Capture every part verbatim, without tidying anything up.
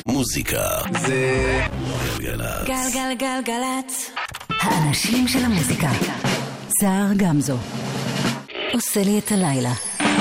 מוזיקה זה גלגלצ. גלגלגלגלצ. האנשים של המוזיקה. סער גמזו עושה לי את הלילה.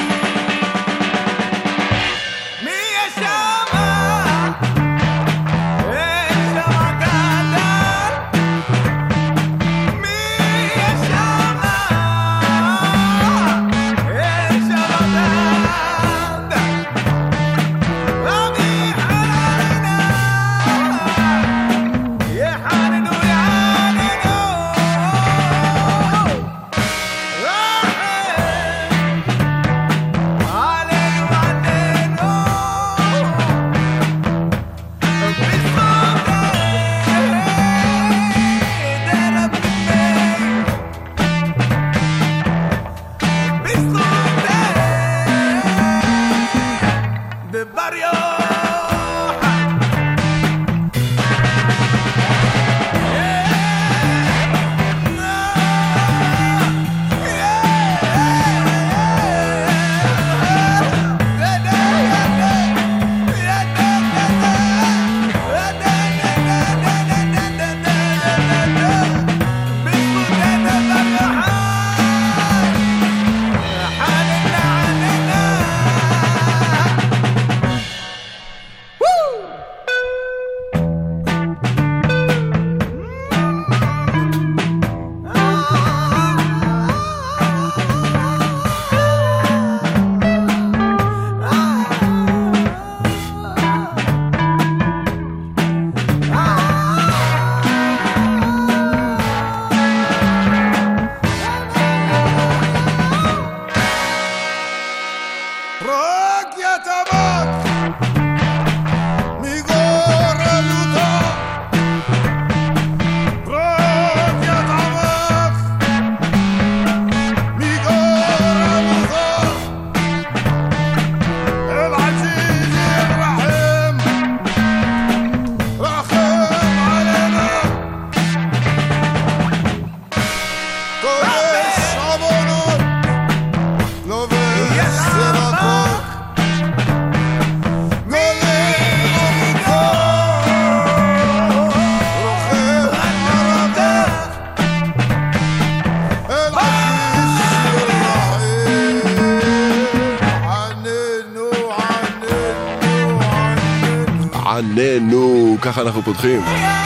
עננו, ככה אנחנו פותחים.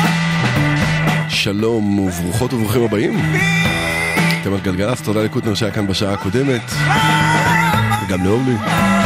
שלום וברוכות וברוכים הבאים. אתם על גלגלצ, תודה לקוטנר שהיה כאן בשעה הקודמת וגם לאורלי.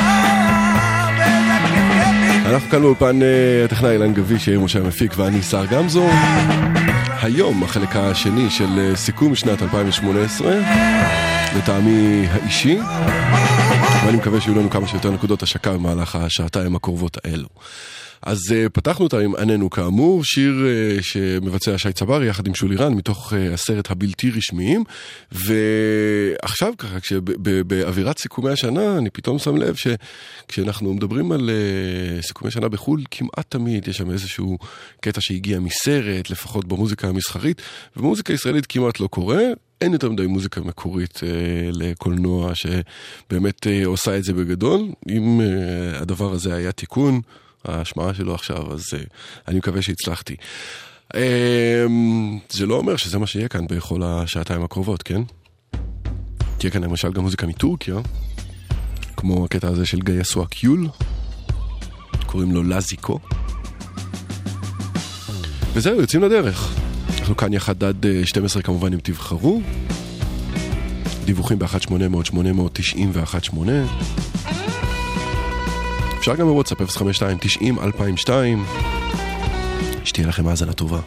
אנחנו כאן באולפן הטכנאי אילן גבי, שיהיה משה המפיק, ואני סער גמזו. היום החלק השני של סיכום שנת אלפיים שמונה עשרה, לטעמי האישי, ואני מקווה שיהיו לנו כמה שיותר נקודות השקה במהלך השעתיים הקרובות האלו. אז uh, פתחנו אותה עם עננו כאמור, שיר uh, שמבצע שי צברי יחד עם שולירן מתוך uh, הסרט הבלתי רשמיים. ועכשיו ככה, באווירת סיכומי השנה, אני פתאום שם לב שכשאנחנו מדברים על uh, סיכומי שנה בחול, כמעט תמיד יש שם איזשהו קטע שהגיע מסרט, לפחות במוזיקה המסחרית, ובמוזיקה הישראלית כמעט לא קורה. אין יותר מדי מוזיקה מקורית אה, לקולנוע שבאמת אה, עושה את זה בגדול. אם אה, הדבר הזה היה תיקון, ההשמעה שלו עכשיו, אז אה, אני מקווה שהצלחתי. אה, זה לא אומר שזה מה שיהיה כאן בכל השעתיים הקרובות, כן? תהיה כאן למשל גם מוזיקה מטורקיה, כמו הקטע הזה של גיא סואקיול, קוראים לו לזיקו. וזהו, יוצאים לדרך. אנחנו כאן יחד עד שתים עשרה כמובן אם תבחרו. דיווחים ב-אחת שמונה אפס אפס שמונה תשע אחת שמונה. אפשר גם בוואטסאפ אפס חמש שתיים תשעים אלפיים ושתיים. שתהיה לכם האזנה טובה.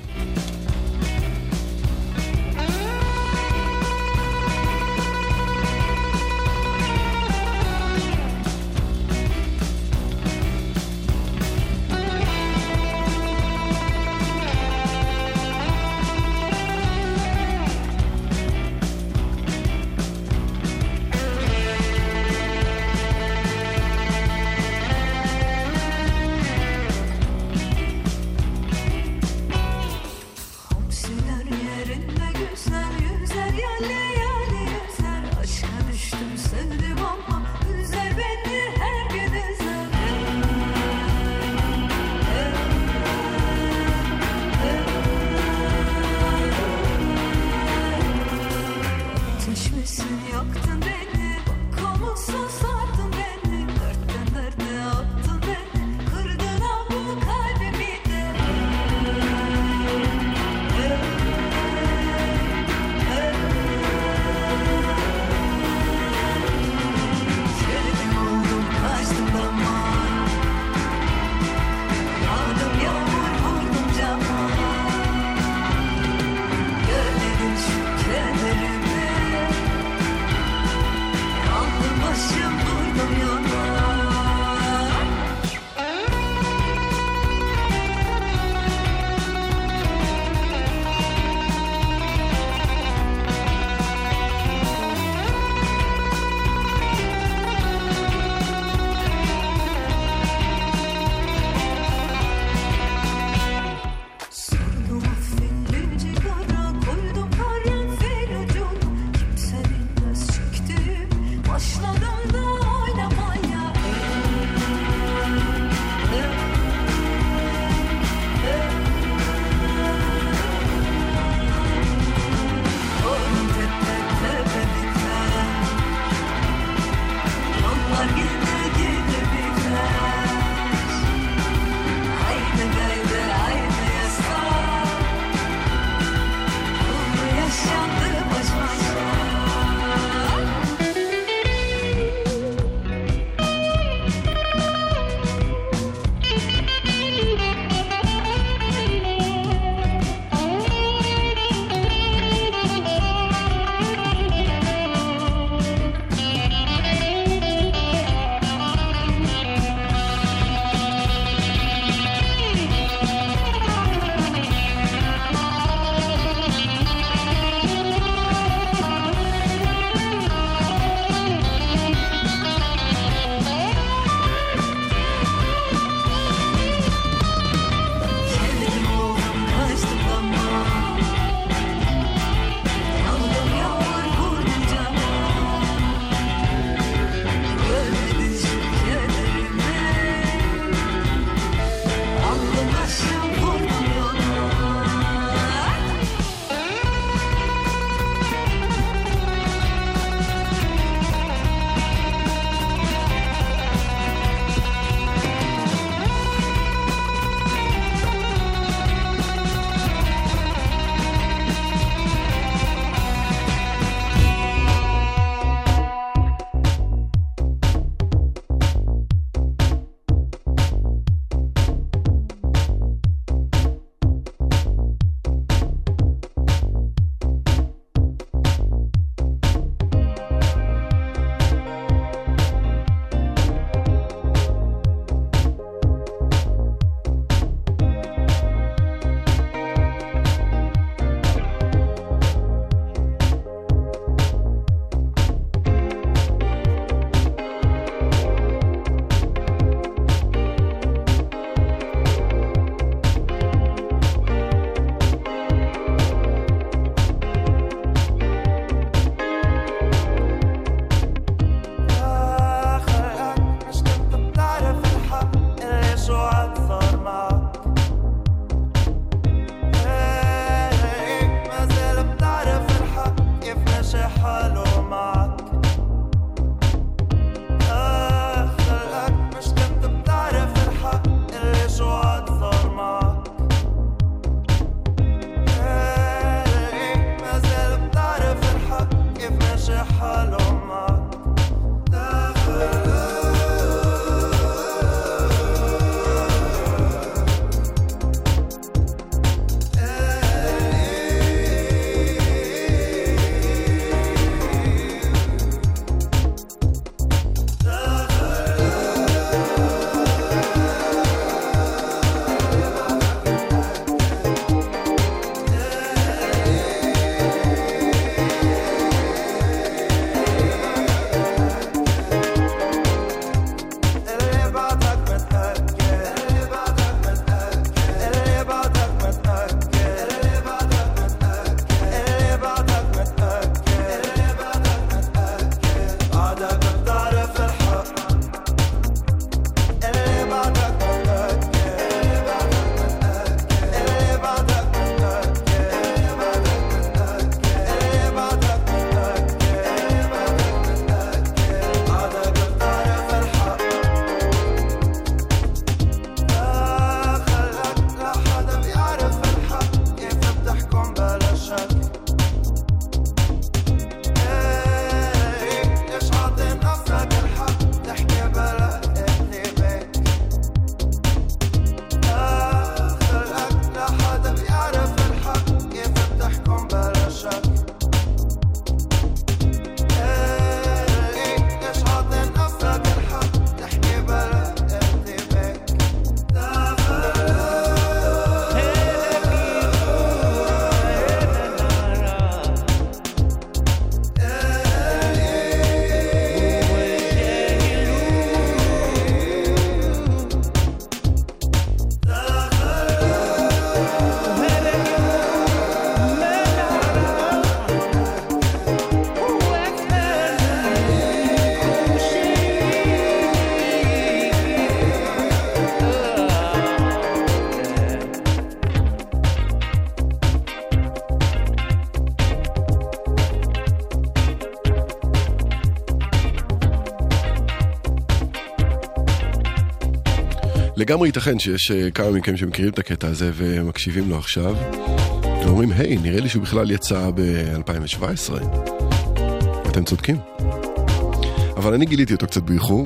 לגמרי ייתכן שיש כמה מכם שמכירים את הקטע הזה ומקשיבים לו עכשיו ואומרים, היי, נראה לי שהוא בכלל יצא ב-אלפיים שבע עשרה. אתם צודקים. אבל אני גיליתי אותו קצת באיחור,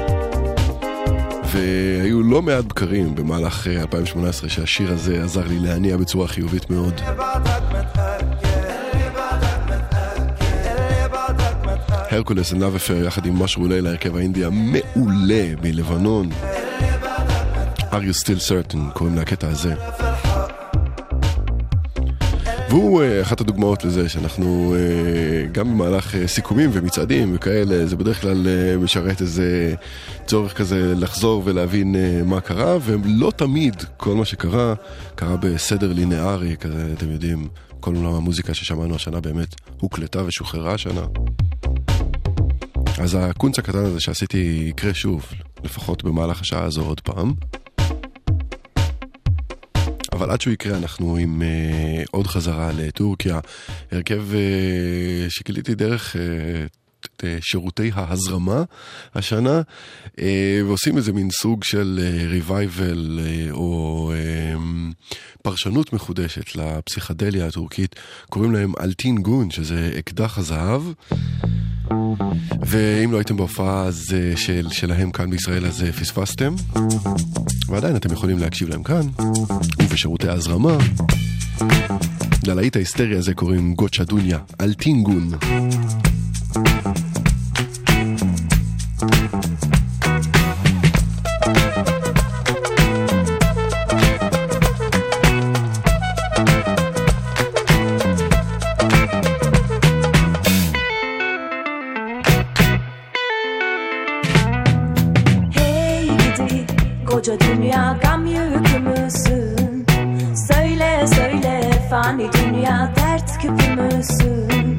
והיו לא מעט בקרים במהלך אלפיים שמונה עשרה שהשיר הזה עזר לי להניע בצורה חיובית מאוד. הרקולס and Love Affair יחד עם משהו אולי להרכב האינדי המעולה מלבנון. Are you still certain? קוראים לקטע הזה. והוא אחת הדוגמאות לזה שאנחנו גם במהלך סיכומים ומצעדים וכאלה, זה בדרך כלל משרת איזה צורך כזה לחזור ולהבין מה קרה, ולא תמיד כל מה שקרה קרה בסדר לינארי כזה, אתם יודעים, כל עולם המוזיקה ששמענו השנה באמת הוקלטה ושוחררה השנה. אז הקונץ הקטן הזה שעשיתי יקרה שוב, לפחות במהלך השעה הזו עוד פעם. אבל עד שהוא יקרה אנחנו עם uh, עוד חזרה לטורקיה, הרכב uh, שגיליתי דרך uh, שירותי ההזרמה השנה, uh, ועושים איזה מין סוג של ריווייבל uh, uh, או uh, פרשנות מחודשת לפסיכדליה הטורקית, קוראים להם אלטין גון, שזה אקדח הזהב. ואם לא הייתם בהופעה של, שלהם כאן בישראל, אז פספסתם, ועדיין אתם יכולים להקשיב להם כאן ובשירותי ההזרמה. ללהיט ההיסטריה הזה קוראים גוצ'ה דוניה, אלטין גון. Koca dünya gam yükü müsün? Söyle söyle fani dünya dert küpü müsün?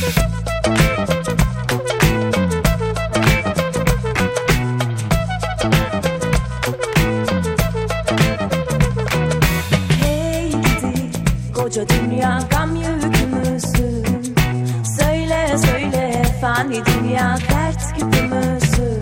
Hey gidi koca dünya gam yükü müsün? Söyle söyle fani dünya dert küpü müsün?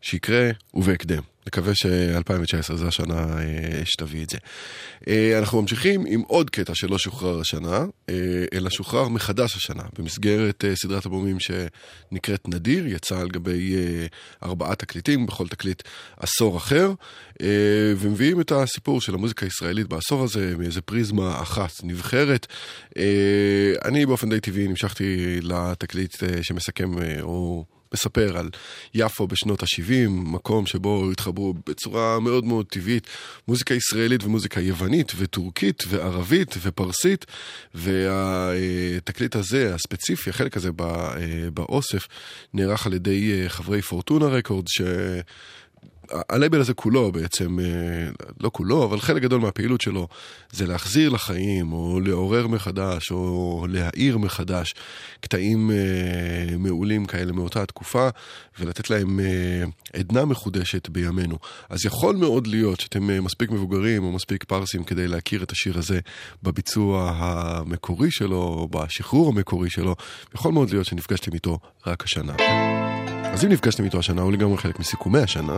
שיקרה ובהקדם. נקווה ש-אלפיים תשע עשרה זה השנה שתביא את זה. אנחנו ממשיכים עם עוד קטע שלא שוחרר השנה, אלא שוחרר מחדש השנה, במסגרת סדרת אלבומים שנקראת נדיר, יצא על גבי ארבעה תקליטים, בכל תקליט עשור אחר, ומביאים את הסיפור של המוזיקה הישראלית בעשור הזה, מאיזה פריזמה אחת נבחרת. אני באופן די טבעי נמשכתי לתקליט שמסכם או מספר על יפו בשנות ה-שבעים, מקום שבו התחברו בצורה מאוד מאוד טבעית מוזיקה ישראלית ומוזיקה יוונית וטורקית וערבית ופרסית, והתקליט הזה, הספציפי, החלק הזה באוסף, נערך על ידי חברי פורטונה רקורד, ש... הלייבל הזה כולו בעצם, לא כולו, אבל חלק גדול מהפעילות שלו זה להחזיר לחיים, או לעורר מחדש, או להעיר מחדש קטעים מעולים כאלה מאותה התקופה, ולתת להם עדנה מחודשת בימינו. אז יכול מאוד להיות שאתם מספיק מבוגרים או מספיק פרסים כדי להכיר את השיר הזה בביצוע המקורי שלו, או בשחרור המקורי שלו. יכול מאוד להיות שנפגשתם איתו רק השנה. אז אם נפגשתם איתו השנה, הוא לגמרי חלק מסיכומי השנה.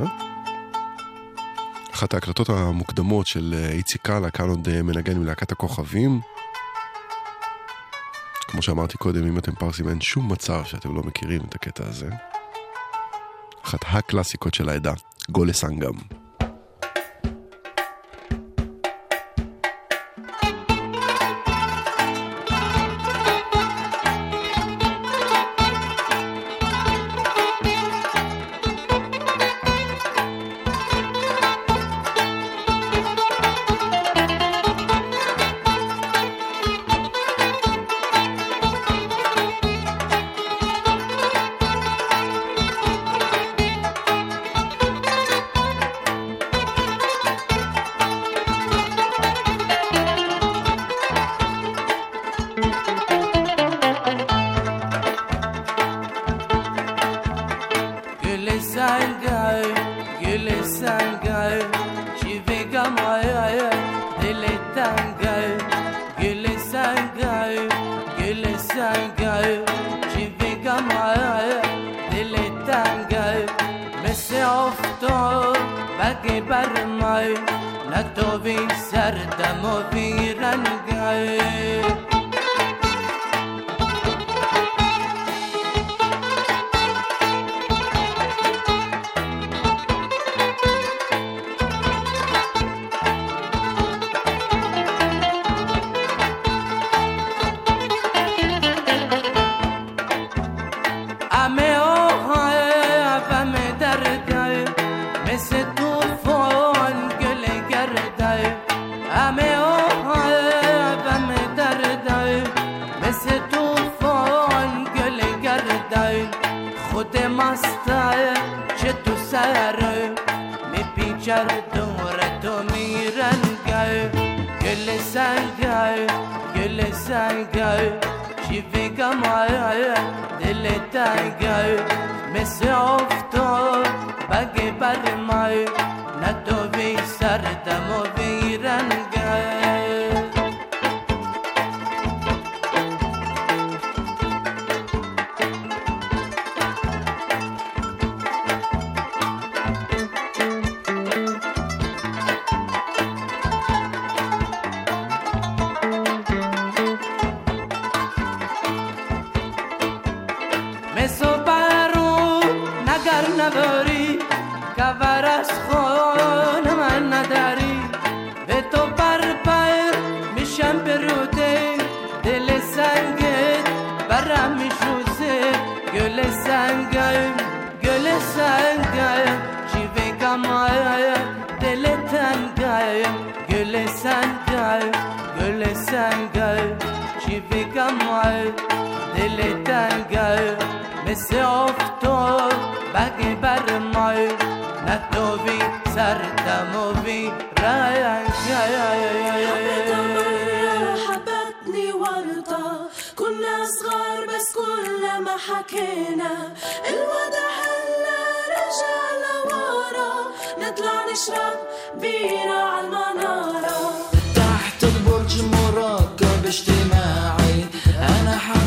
אחת ההקלטות המוקדמות של איציק קאלה, כאן עוד מנגן מלהקת הכוכבים. כמו שאמרתי קודם, אם אתם פרסים, אין שום מצב שאתם לא מכירים את הקטע הזה. אחת הקלאסיקות של העדה, גולה סנגם.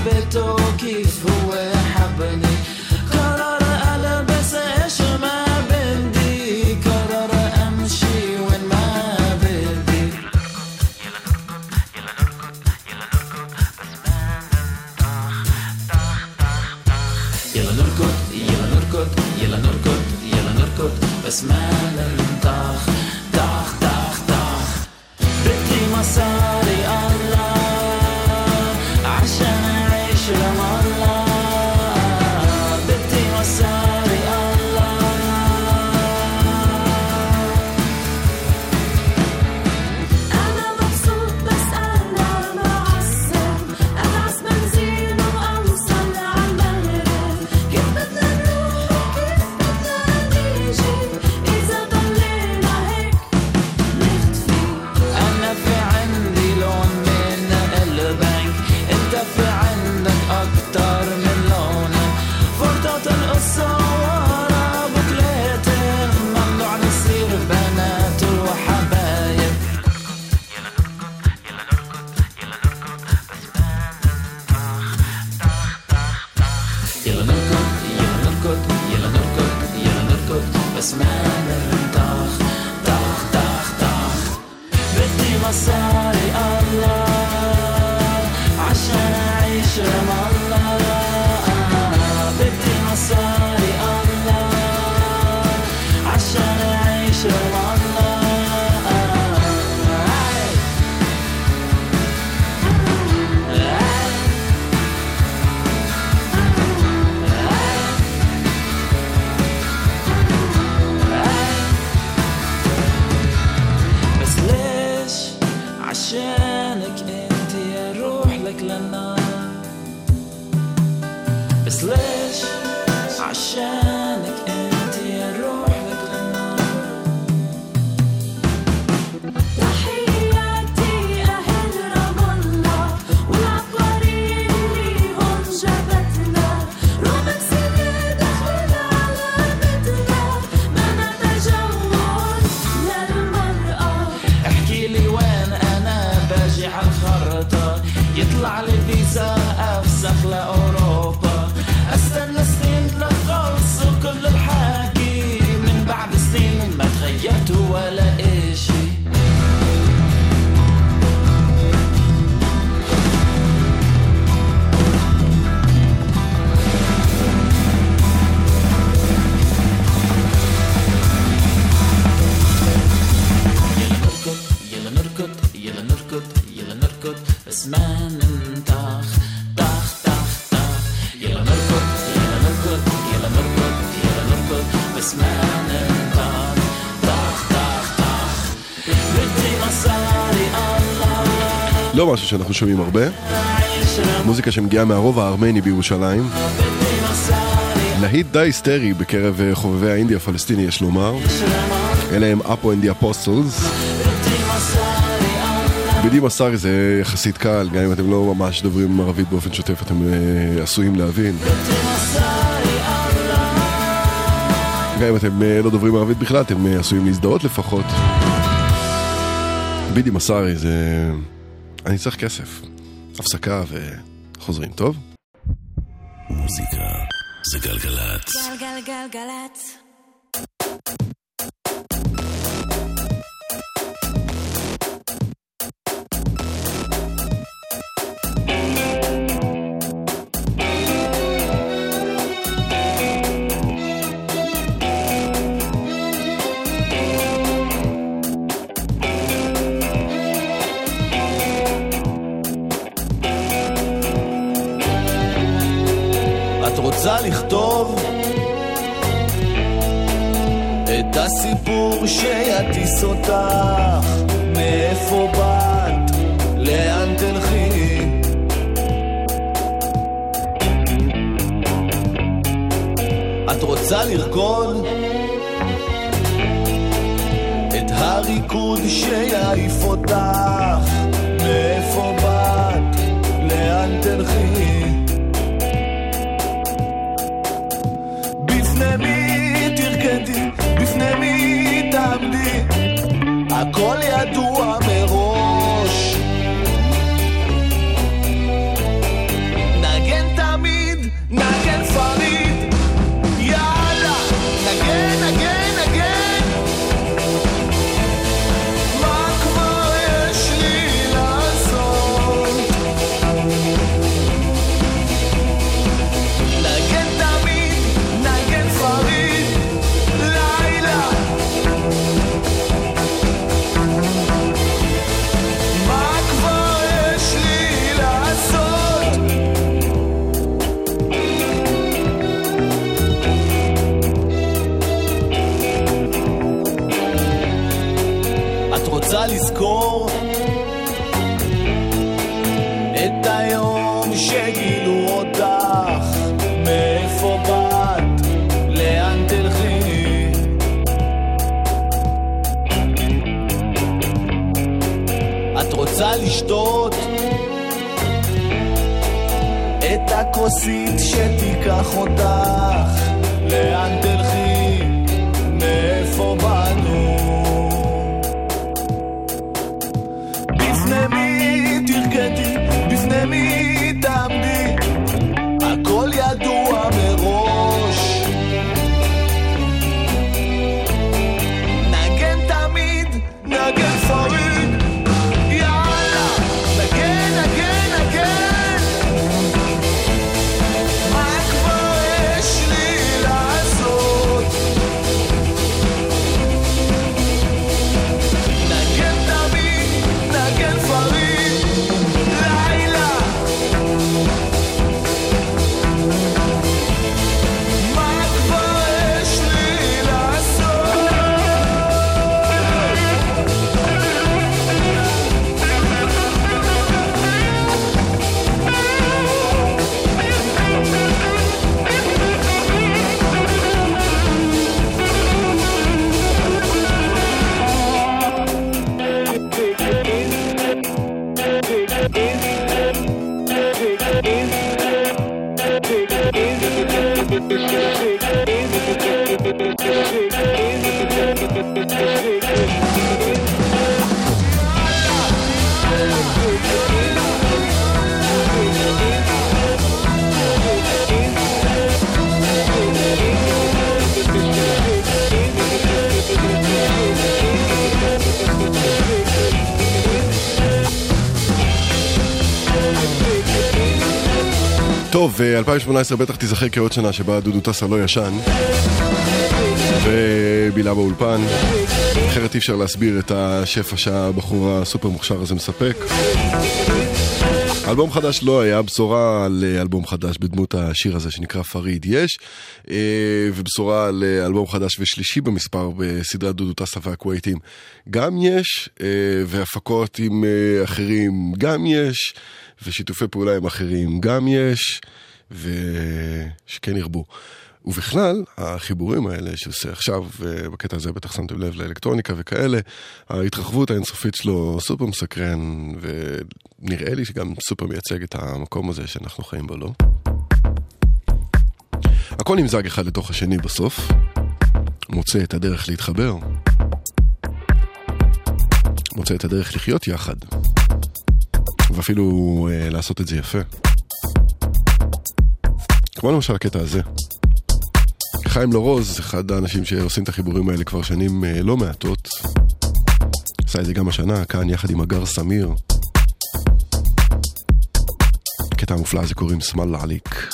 كيف هو حبني قرر ألبس إيش ما مصاري الله عشان أعيش رم الله بدي مصاري الله عشان أعيش رم الله عشانك انت اروح لك للنار بس ليش عشانك انت اروح لك للنار تحياتي اهل رام الله والعبقريين اللي هون جابتنا رومك سنة دخلنا على بيتنا ما نتجول للمرأة احكي لي وين باجي على الخرطة يطلع لي فيزا أفسخ لأوروبا أستنى سنين لخلص كل الحكي من بعد سنين ما تغيرت ولا إشي بس ما ننتخ طخ طخ طخ يلا نركض يلا نركض يلا نركض يلا نركض بس ما ننتخ طخ طخ طخ بدي מصרי الله לא משהו שאנחנו שומעים הרבה, מוזיקה שמגיעה מהרוב הארמני בירושלים, להיט די היסטרי בקרב חובבי האינדי הפלסטיני יש לומר, אלה הם אפו אנד די אפוסטלס. בדי מסארי זה יחסית קל, גם אם אתם לא ממש דוברים ערבית באופן שוטף, אתם uh, עשויים להבין. גם אם אתם uh, לא דוברים ערבית בכלל, אתם uh, עשויים להזדהות לפחות. בדי מסארי זה... אני צריך כסף. הפסקה וחוזרים, טוב? מוזיקה זה גלגלת. גלגלגלגלת. רוצה לכתוב את הסיפור שיטיס אותך, מאיפה באת, לאן תלכי. את רוצה לרקוד את הריקוד שיעיף אותך, מאיפה באת, לאן תלכי. בפני מי תרקדי, בפני מי תעמדי, הכל ידוע מראש. נגן תמיד, נגן פריד, יאללה, נגן, נגן, נגן. מה כבר יש לי לעשות? נגן תמיד, נגן פריד, לילה. מה כבר יש לי לעשות? את רוצה לזכור את היום שגילו אותך, מאיפה באת, לאן תלכי. את רוצה לשתות את הכוסית שתיקח אותך, לאן תלכי, מאיפה באנו. בפני מי תרקדי, בפני מי תעמדי, הכל ידוע מראש. נגן תמיד, נגן פריד, טוב, אלפיים שמונה עשרה בטח תיזכר כעוד שנה שבה דודו טסה לא ישן ובילה באולפן. אחרת אי אפשר להסביר את השפע שהבחור הסופר מוכשר הזה מספק. אלבום חדש לא היה, בשורה על אלבום חדש בדמות השיר הזה שנקרא פריד יש, ובשורה על אלבום חדש ושלישי במספר בסדרת דודו טסה והכווייטים גם יש, והפקות עם אחרים גם יש, ושיתופי פעולה עם אחרים גם יש, ושכן ירבו. ובכלל, החיבורים האלה שעושה עכשיו, בקטע הזה בטח שמתם לב לאלקטרוניקה וכאלה, ההתרחבות האינסופית שלו סופר מסקרן, ונראה לי שגם סופר מייצג את המקום הזה שאנחנו חיים בו, לא? הכל נמזג אחד לתוך השני בסוף, מוצא את הדרך להתחבר, מוצא את הדרך לחיות יחד, ואפילו אה, לעשות את זה יפה. כמו למשל הקטע הזה. חיים לורוז, אחד האנשים שעושים את החיבורים האלה כבר שנים אה, לא מעטות. עשה את זה גם השנה, כאן יחד עם אגר סמיר. הקטע המופלא הזה קוראים סמל לעליק.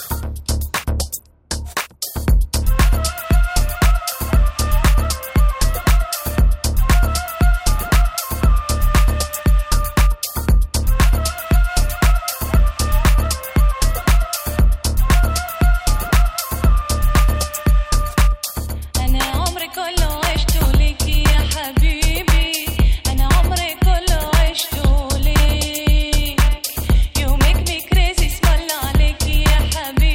حبيبي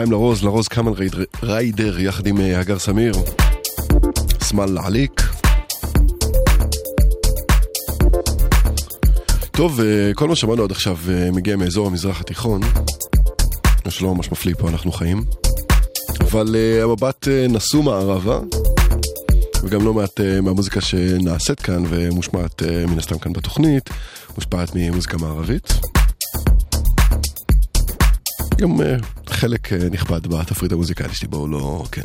בינתיים לרוז, לרוז קאמן ריידר יחד עם הגר סמיר, סמל עליק. טוב, כל מה שמענו עד עכשיו מגיע מאזור המזרח התיכון, שלא ממש מפליא פה אנחנו חיים, אבל המבט נסו מערבה, וגם לא מעט מהמוזיקה שנעשית כאן ומושמעת מן הסתם כאן בתוכנית, מושפעת ממוזיקה מערבית. גם חלק נכבד בתפריט המוזיקלי שלי, בואו לא, כן.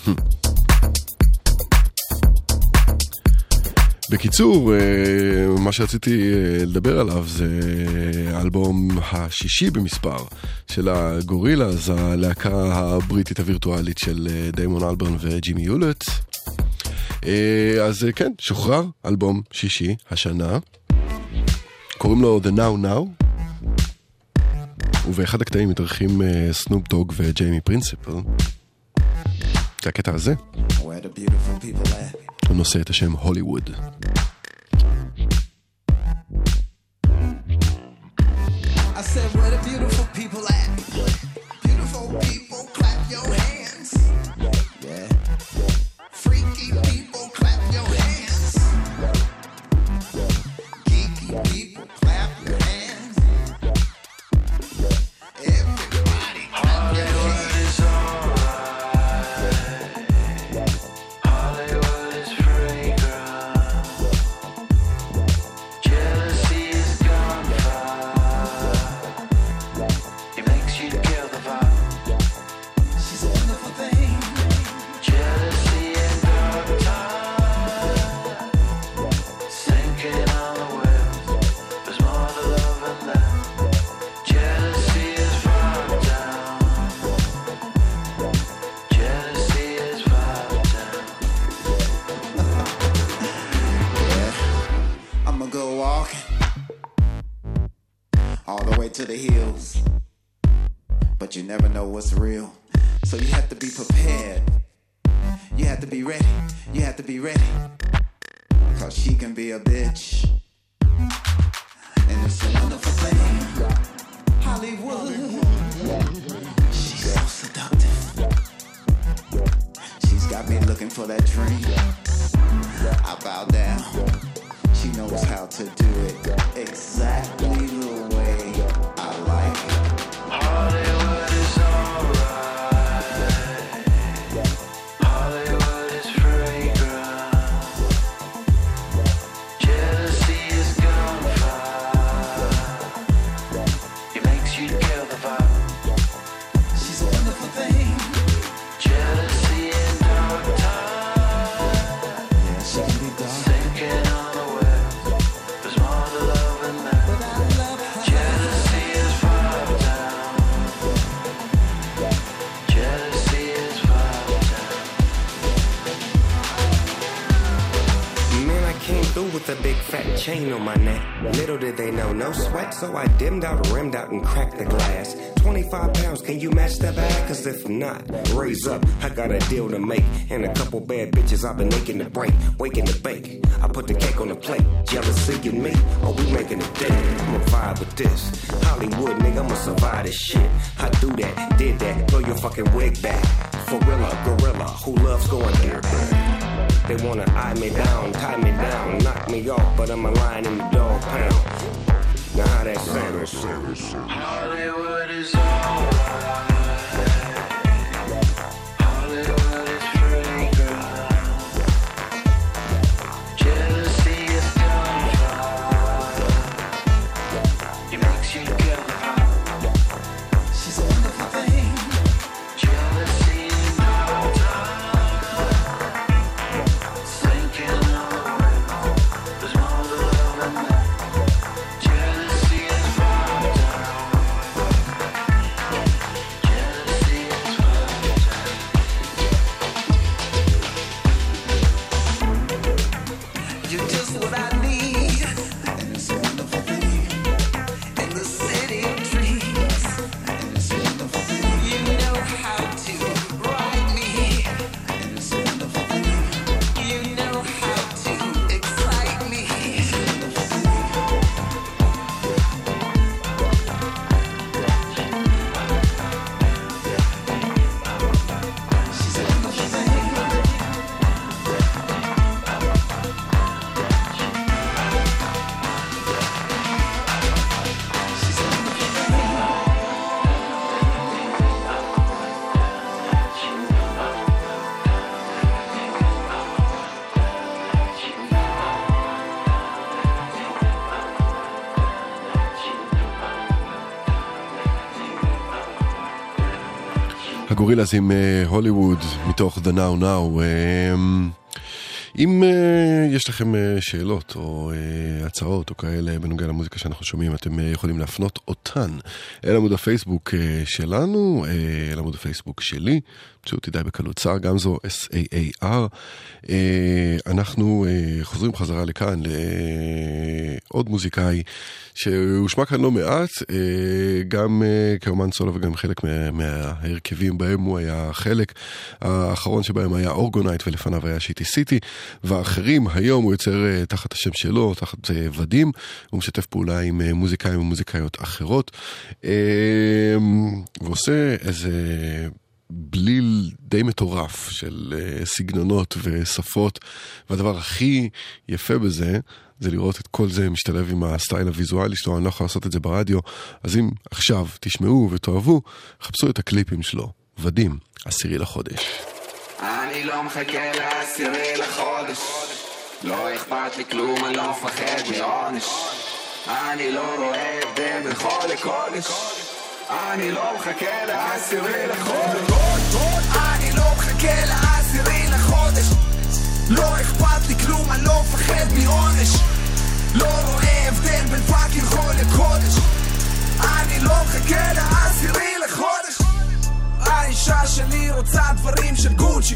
בקיצור, מה שרציתי לדבר עליו זה האלבום השישי במספר של הגורילאז, הלהקה הבריטית הווירטואלית של דיימון אלברן וג'ימי יולט. אז כן, שוחרר אלבום שישי השנה, קוראים לו The Now Now, ובאחד הקטעים מתארחים סנופ דוג וג'יימי פרינסיפל. זה הקטע הזה. הוא נושא את השם הוליווד. I said where the beautiful people at? Beautiful people, clap your hands. Yeah. Freaky people, clap your hands. Geeky people, clap your hands. Everybody clap your hands. Hollywood is fragrant. Jealousy is gunfire. It makes you kill the vibe. She's a wonderful thing. Jealousy and dark time. Sinking on the web. There's more to love than that. Jealousy is far down. Jealousy is far down. Yeah, I'ma go walking all the way to the hills, but you never know what's real, so you have to be prepared. You have to be ready. You have to be ready, cause she can be a bitch, and it's a wonderful thing. Hollywood, she's so seductive. She's got me looking for that dream. I bow down. She knows how to do it exactly the way I like it. Hollywood is alright. Hollywood is fragrant. Jealousy is gunfire. It makes you kill the vibe. She's a wonderful thing. Jealousy and dark time. Yeah, she can be dark. Sinking on the web. There's more to love than that. Jealousy is far down. Jealousy is far down. Man, I came through with a big fat chain on my neck. Little did they know, no sweat, so I dimmed out, rimmed out, and cracked the glass. twenty-five pounds, can you match that bag? Cause if not, raise up, I got a deal to make. And a couple bad bitches I've been making to break, waking to bake. I put the cake on the plate, jealousy and me, oh we making a day. I'ma vibe with this, Hollywood nigga, I'ma survive this shit. I do that, did that, throw your fucking wig back. Gorilla, gorilla, who loves going there? They wanna eye me down, tie me down, knock me off, but I'm a lion in the dog pound. Now how that sound? Hollywood is alright. Hollywood is fragrant. Jealousy is gunfire. It makes you kill the vibe. She's a wonderful thing. Jealousy and dark time. Sinking on the web. There's more to love than that. Jealousy is far down. Jealousy is far down. הגורילאז עם הוליווד מתוך The Now Now. אם יש לכם שאלות או הצעות או כאלה בנוגע למוזיקה שאנחנו שומעים, אתם יכולים להפנות אותן אל עמוד הפייסבוק שלנו, אל עמוד הפייסבוק שלי, פשוט תדעי בקלות, סער גמזו, אס איי איי אר. אנחנו חוזרים חזרה לכאן לעוד מוזיקאי שהושמע כאן לא מעט, גם כאומן סולו וגם חלק מההרכבים בהם הוא היה חלק. האחרון שבהם היה אורגונייט ולפניו היה שיטי סיטי, ואחרים. היום הוא יוצר תחת השם שלו, תחת ודים, הוא משתף פעולה עם מוזיקאים ומוזיקאיות אחרות, ועושה איזה בליל די מטורף של סגנונות ושפות, והדבר הכי יפה בזה זה לראות את כל זה משתלב עם הסטייל הוויזואלי שלו. אני לא יכול לעשות את זה ברדיו, אז אם עכשיו תשמעו ותאהבו, חפשו את הקליפים שלו. ודים, עשירי לחודש. אני לא מחכה לעשירי לחודש, לא אכפת לי כלום, אני לא מפחד מעונש. אני לא רואה הבדל בין חול לקודש, אני לא מחכה לעשירי לחודש, אני לא מחכה לעשירי לחודש, לא אכפת לי כלום, אני לא מפחד מעונש. לא רואה הבדל בין פאקינג חול לקודש, אני לא מחכה לעשירי לחודש. האישה שלי רוצה דברים של גוצ'י,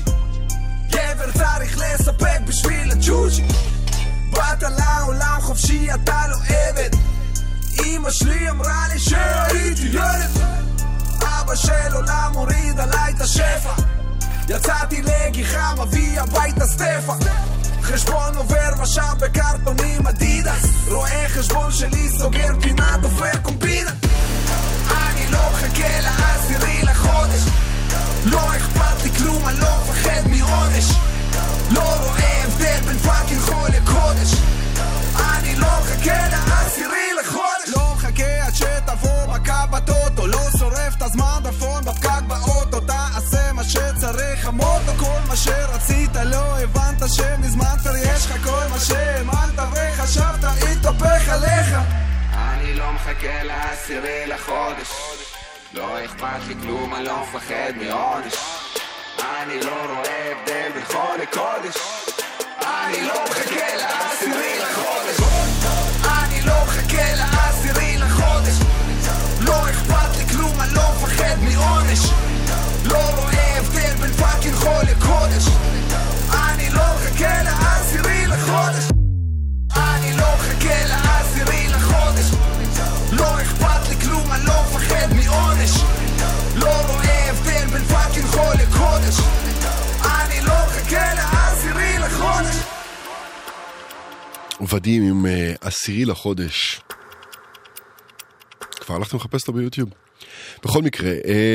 גבר צריך לספק בשביל הג'וג'י. באת לעולם חופשי, אתה לא עבד, אמא שלי אמרה לי שהייתי ילד, אבא של עולם הוריד עליי את השפע, יצאתי לגיחה מביא הביתה סטפה, חשבון עובר משאב בקרטונים אדידס, רואה חשבון שלי סוגר פינה דופק קומבינה. אני לא מחכה לעשירי לחודש, לא אכפת לי כלום, אני לא מפחד מעונש. לא רואה הבדל בין פאקינג חול לקודש, אני לא מחכה לעשירי לחודש, לא מחכה עד שתבוא מכה בטוטו, לא שורף את הזמן דפון בפקק באוטו, תעשה מה שצריך המוטו, כל מה שרצית לא הבנת שמזמן כבר יש לך כל מה שהאמנת וחשבת התהפך עליך. אני לא מחכה לעשירי לחודש, לא אכפת לי כלום, אני לא מפחד מעונש. אני לא רואה הבדל בין חול לקודש, אני לא מחכה לעשירי לחודש, אני לא מחכה לעשירי לחודש, לא אכפת לי כלום, אני לא מפחד מעונש. לא רואה הבדל בין פאקינג חול לקודש, אני לא מחכה לעשירי לחודש, אני לא מחכה לעשירי לחודש, לא אכפת לי כלום, אני לא מפחד מעונש. לא רואה הבדל בין פאקינג חול לקודש, אני לא מחכה לעשירי לחודש. ודים עם עשירי לחודש, כבר הלכתם לחפש אותו ביוטיוב. בכל מקרה,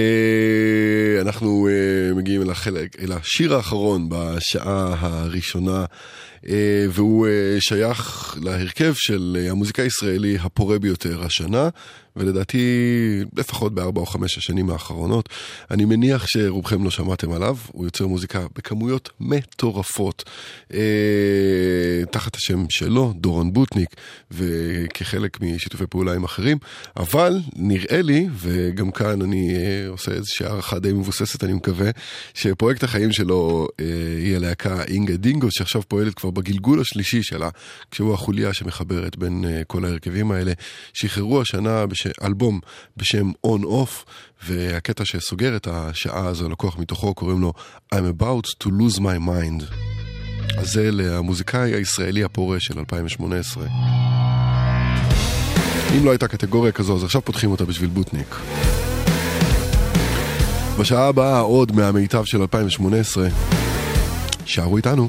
אנחנו מגיעים אל החלק, אל השיר האחרון בשעה הראשונה, והוא שייך להרכב של המוזיקה הישראלי הפורה ביותר השנה, ולדעתי לפחות בארבע או חמש השנים האחרונות. אני מניח שרובכם לא שמעתם עליו, הוא יוצר מוזיקה בכמויות מטורפות, אה, תחת השם שלו, דורון בוטניק, וכחלק משיתופי פעולה עם אחרים, אבל נראה לי, וגם כאן אני אה, עושה איזושהי הערכה די מבוססת, אני מקווה, שפרויקט החיים שלו אה, היא הלהקה אינגה דינגו, שעכשיו פועלת כבר בגלגול השלישי שלה, כשהוא החוליה שמחברת בין אה, כל ההרכבים האלה, שחררו השנה בש... אלבום בשם On Off, והקטע שסוגר את השעה הזו לקוח מתוכו קוראים לו I'm about to lose my mind. אז זה למוזיקאי הישראלי הפורה של אלפיים שמונה עשרה. אם לא הייתה קטגוריה כזו, אז עכשיו פותחים אותה בשביל בוטניק. בשעה הבאה עוד מהמיטב של אלפיים שמונה עשרה. שערו איתנו.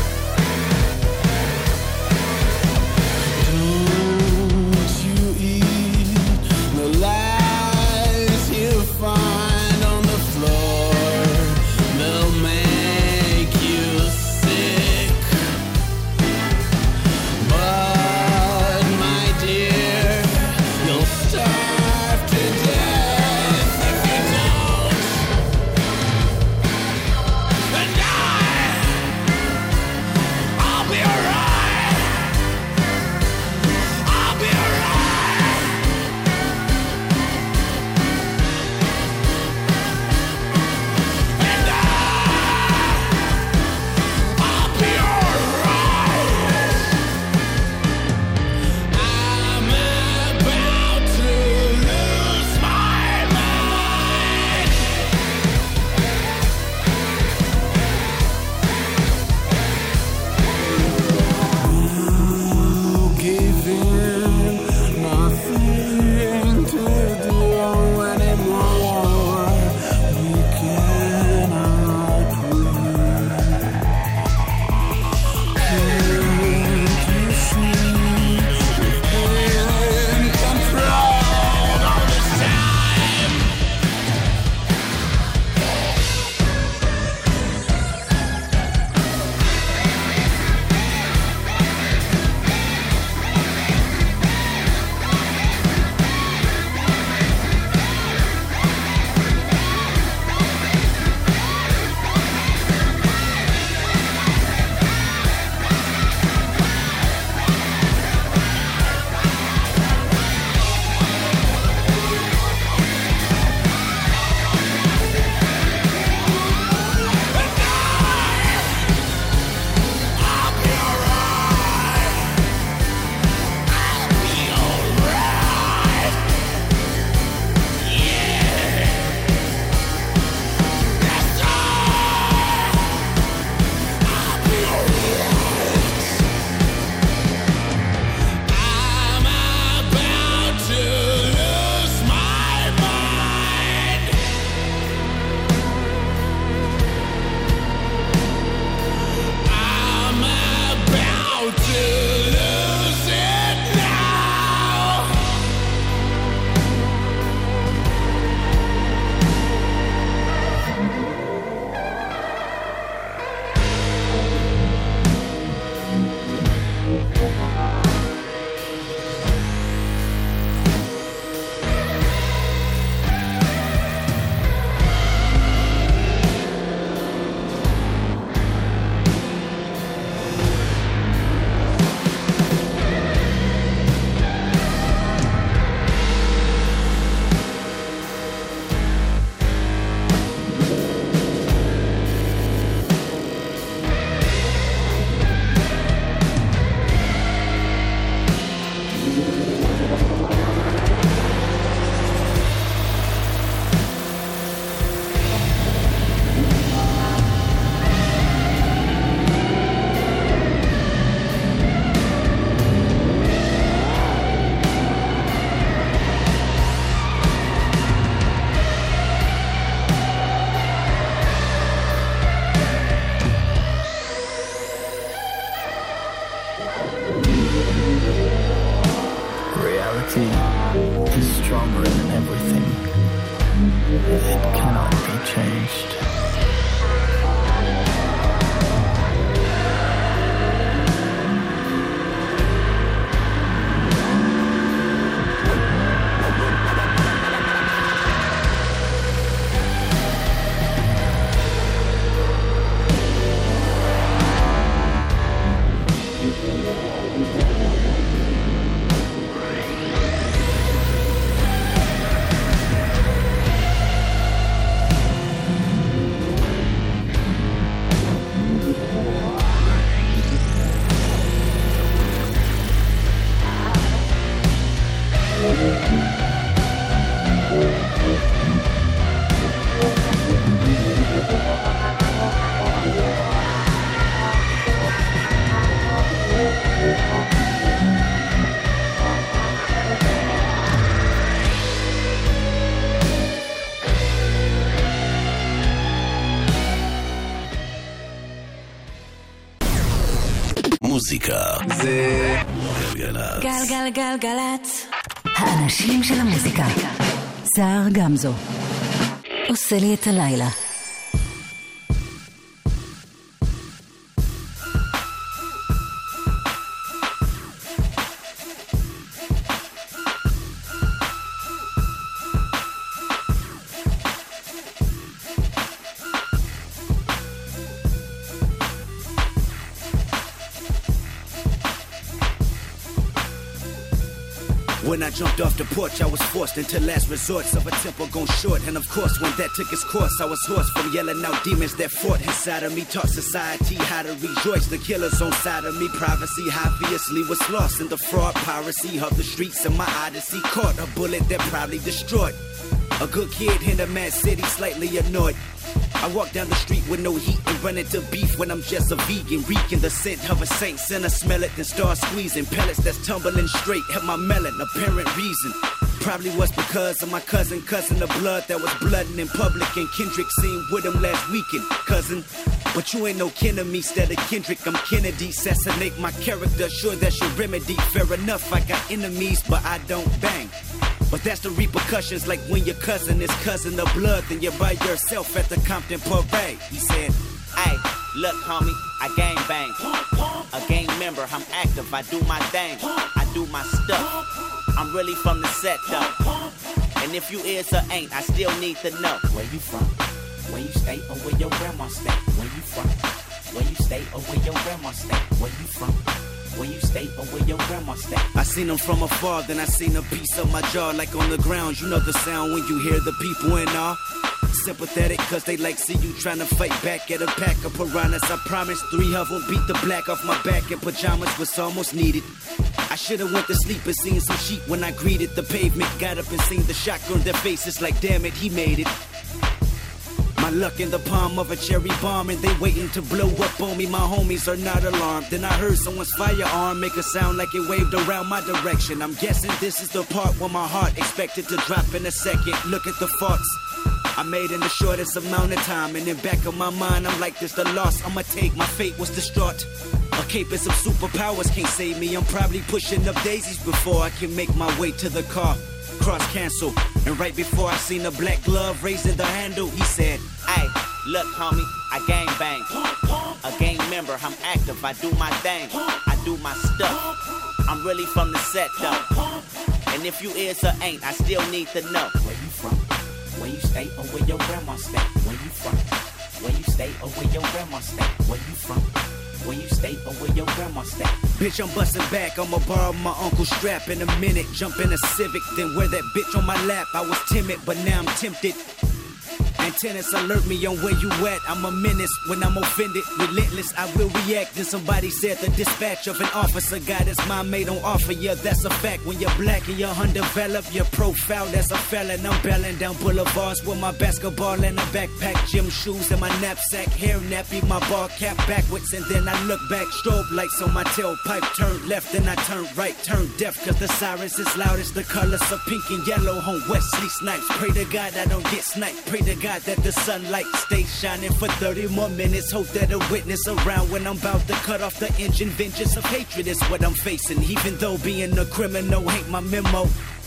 Don't you eat everything. It cannot be changed. מוזיקה זה גלגלצ. גלגלגלגלצ. האנשים של המוזיקה. סער גמזו עושה לי את הלילה. When I jumped off the porch, I was forced into last resorts of a temple gone short. And of course, when that took its course, I was hoarse from yelling out demons that fought inside of me. Taught society how to rejoice. The killers on side of me. Privacy obviously was lost in the fraud, piracy of the streets. And my odyssey caught a bullet that probably destroyed a good kid in a mad city, slightly annoyed. I walk down the street with no heat and run into beef when I'm just a vegan, reeking the scent of a saint. Sinner smell it, then start squeezing pellets that's tumbling straight. Have my melon, apparent reason. Probably was because of my cousin, cousin of blood that was blooding in public. And Kendrick seen with him last weekend, cousin. But you ain't no kin of me, instead of Kendrick, I'm Kennedy. Assassinate my character, sure that's your remedy. Fair enough, I got enemies, but I don't bang. But that's the repercussions, like when your cousin is cousin of blood, then you're by yourself at the Compton Parade. He said, "Hey, look, homie, I gang bang. A gang member, I'm active, I do my thing, I do my stuff. I'm really from the set, though. And if you is or ain't, I still need to know where you from, where you stay, or where your grandma stay. Where you from, where you stay, or where your grandma stay. Where you from." Where you stay or where your grandma stay. I seen them from afar, then I seen a piece of my jaw like on the ground. You know the sound when you hear the people in awe. Sympathetic cause they like see you trying to fight back at a pack of piranhas. I promise three of them beat the black off my back in pajamas was almost needed. I should've went to sleep and seen some sheep when I greeted the pavement. Got up and seen the shotgun, their faces like damn it, he made it. My luck in the palm of a cherry bomb and they waiting to blow up on me. My homies are not alarmed. Then I heard someone's firearm make a sound like it waved around my direction. I'm guessing this is the part where my heart expected to drop in a second. Look at the faults I made in the shortest amount of time. And in back of my mind I'm like, this the loss I'ma take. My fate was distraught. A cape and some superpowers can't save me. I'm probably pushing up daisies before I can make my way to the car. Cross cancel. And right before I seen a black glove raising the handle, he said, "Hey, look, homie, I gang bang. A gang member, I'm active, I do my thing, I do my stuff. I'm really from the set, though. And if you is or ain't, I still need to know where you from, where you stay, or where your grandma stay. Where you from, where you stay, or where your grandma stay. Where you from, where you stay, or where your grandma stay." Bitch, I'm busting back, I'ma borrow my uncle's strap in a minute. Jump in a Civic, then wear that bitch on my lap. I was timid, but now I'm tempted. Antennas alert me on where you at. I'm a menace when I'm offended. Relentless, I will react. Then somebody said the dispatch of an officer got his mind made on offer. Yeah, that's a fact. When you're black and you're undeveloped, your profile as a felon. I'm belling down boulevards with my basketball and a backpack, gym shoes and my knapsack, hair nappy, my ball cap backwards. And then I look back, strobe lights on my tailpipe. Turned left, then I turned right, turned deaf, cause the sirens is loud as the colors of pink and yellow on Wesley Snipes. Pray to God I don't get sniped. Pray to God that the sunlight stays shining for thirty more minutes. Hope that a witness around when I'm about to cut off the engine. Vengeance of hatred is what I'm facing. Even though being a criminal ain't my memo,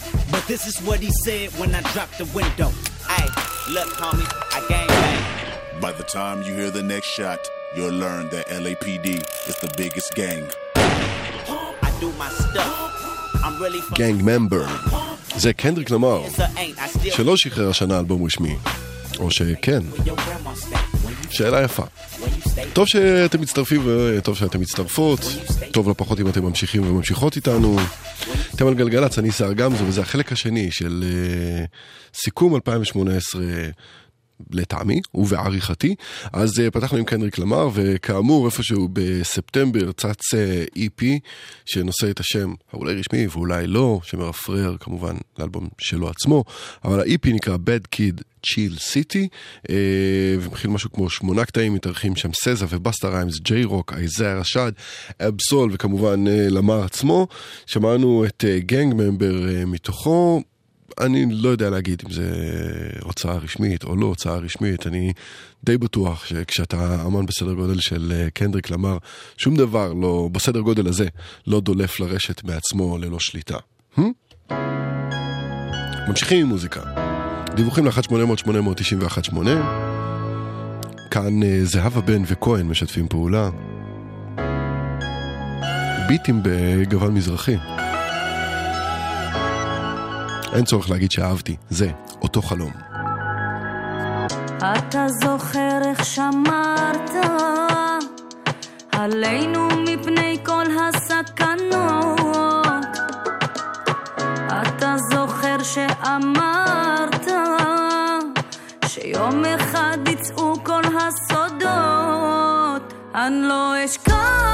But this is what he said when I dropped the window. Hey, look, homie, I gang bang. By the time you hear the next shot, you'll learn that L A P D is the biggest gang. I do my stuff. I'm really from... Gang Member. זה קנדריק למר, שלא שחרר השנה אלבום רשמי. או שכן. שאלה יפה. טוב שאתם מצטרפים וטוב שאתם מצטרפות. טוב לפחות אם אתם ממשיכים וממשיכות איתנו. אתם על גלגלץ, אני שר גמזו, וזה החלק השני של uh, סיכום אלפיים שמונה עשרה לטעמי ובעריכתי. אז uh, פתחנו עם קנדריק למר, וכאמור איפשהו בספטמבר צץ אי פי שנושא את השם אולי רשמי ואולי לא, שמרפרר כמובן לאלבום שלו עצמו, אבל ה-אי פי נקרא Bad Kid Chill City, uh, ומכיל משהו כמו שמונה קטעים, מתארחים שם סזה ובסטה ריימס, ג'יי רוק, איזיה רשד, אבסול, וכמובן uh, למר עצמו. שמענו את גנג uh, ממבר uh, מתוכו. אני לא יודע להגיד אם זה הוצאה רשמית או לא הוצאה רשמית. אני די בטוח שכשאתה אמן בסדר גודל של קנדריק למר, שום דבר לא, בסדר גודל הזה, לא דולף לרשת מעצמו ללא שליטה. Hmm? ממשיכים עם מוזיקה. דיווחים ל-אחת שמונה אפס אפס שמונה תשע אחת שמונה. כאן זהבה בן וכהן משתפים פעולה. ביטים בגוון מזרחי. אין צורך להגיד שאהבתי, זה אותו חלום. אתה זוכר איך שמרת עלינו מפני כל הסכנות, אתה זוכר שאמרת שיום אחד יצאו כל הסודות, אני לא אשכח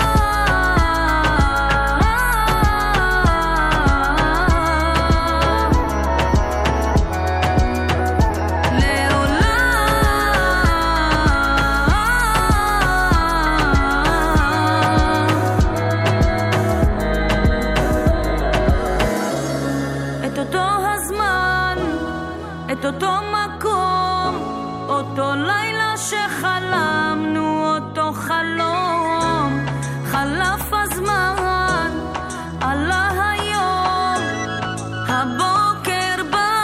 אותו מקום, אותו לילה שחלמנו, אותו חלום. חלף הזמן, עלה היום, הבוקר בא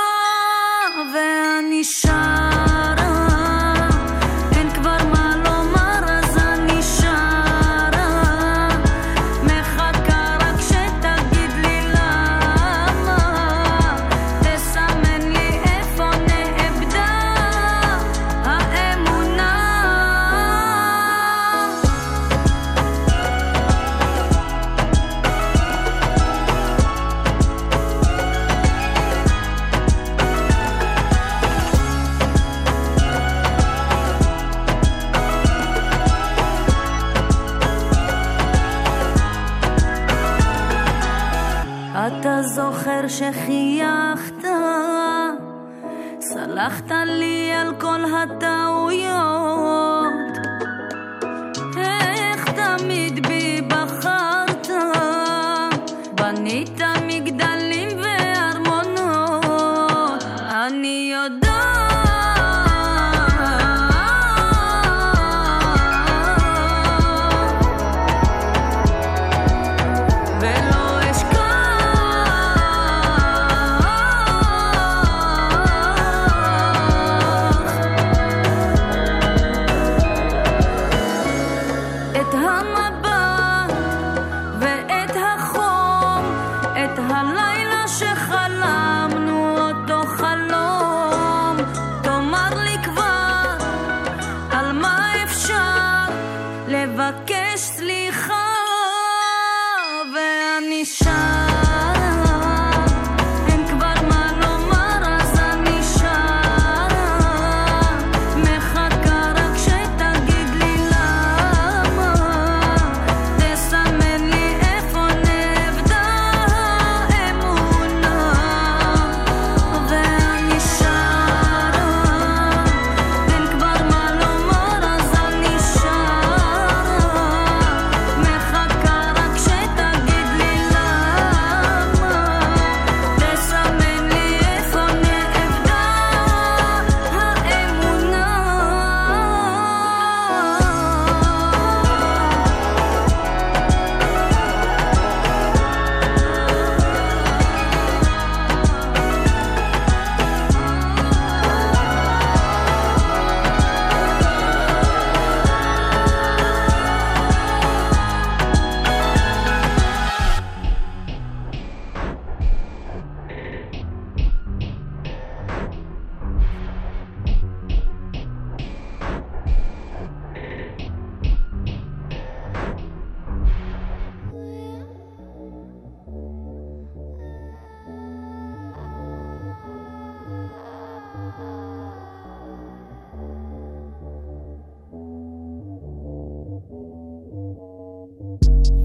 ואני שרה, אין כבר מה לומר אז אני שרה, מחכה רק שתגיד לי למה, תסמן לי אתה זוכר שחייכת, סלחת לי על כל הטעויות, איך תמיד בי בחרת, בנית מגדלים וארמונות, אני יודעת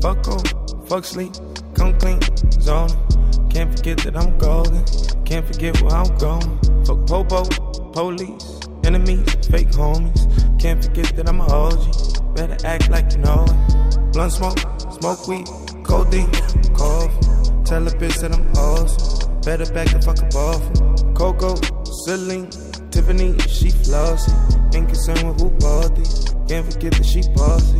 Fuck on, fuck sleep, come clean, zone. Can't forget that I'm golden, can't forget where I'm going. Fuck popo, police, enemies, fake homies. Can't forget that I'm a O G, better act like you know it. Blunt smoke, smoke weed, codeine, cough. Tell a bitch that I'm awesome, better back the fuck up off. Coco, Celine, Tiffany, she flossy. Ain't concerned with who bought these, can't forget that she bossy.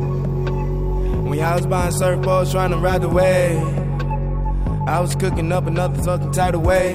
When I was buying surfboards trying to ride the wave, I was cooking up another fucking tidal wave.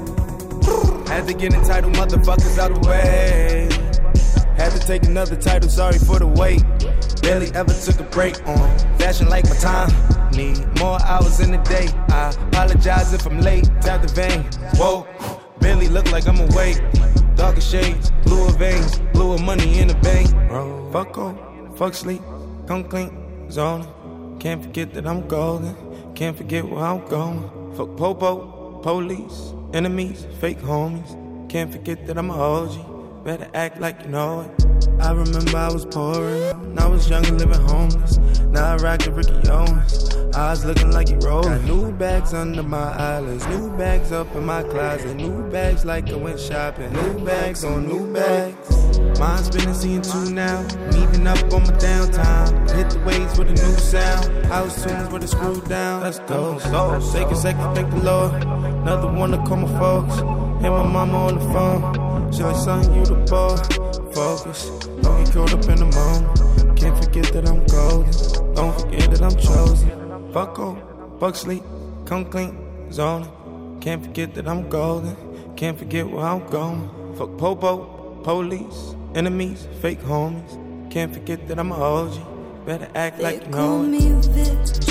Had to get entitled motherfuckers out of the way. Had to take another title, sorry for the wait. Barely ever took a break on fashion like my time. Need more hours in the day. I apologize if I'm late. Tap the vein. Whoa, barely look like I'm awake. Darker shades, bluer veins, bluer money in the bank. Fuck on, fuck sleep, come clean, zone. Can't forget that I'm golden. Can't forget where I'm going. Fuck popo, police, enemies, fake homies. Can't forget that I'm a O G. Better act like you know it. I remember I was poor and I was young and living homeless. Now I rock the Ricky Owens. Eyes looking like he rolled. Got new bags under my eyelids, new bags up in my closet, new bags like I went shopping, new bags on new bags. Mine's been seeing two now, meeting up on my downtime. Hit the waves with a new sound, house tunes with a screw down. Let's go, go. Take a second, thank the Lord. Another one to call my folks. Hit my mama on the phone. She like, son, you the boy. Focus, don't get caught up in the moment. Can't forget that I'm golden. Don't forget that I'm chosen. Fuck on, fuck sleep, come clean, zoning. Can't forget that I'm golden. Can't forget where I'm going. Fuck popo, police, enemies, fake homies. Can't forget that I'm a O G. Better act like you know it. They call me bitch.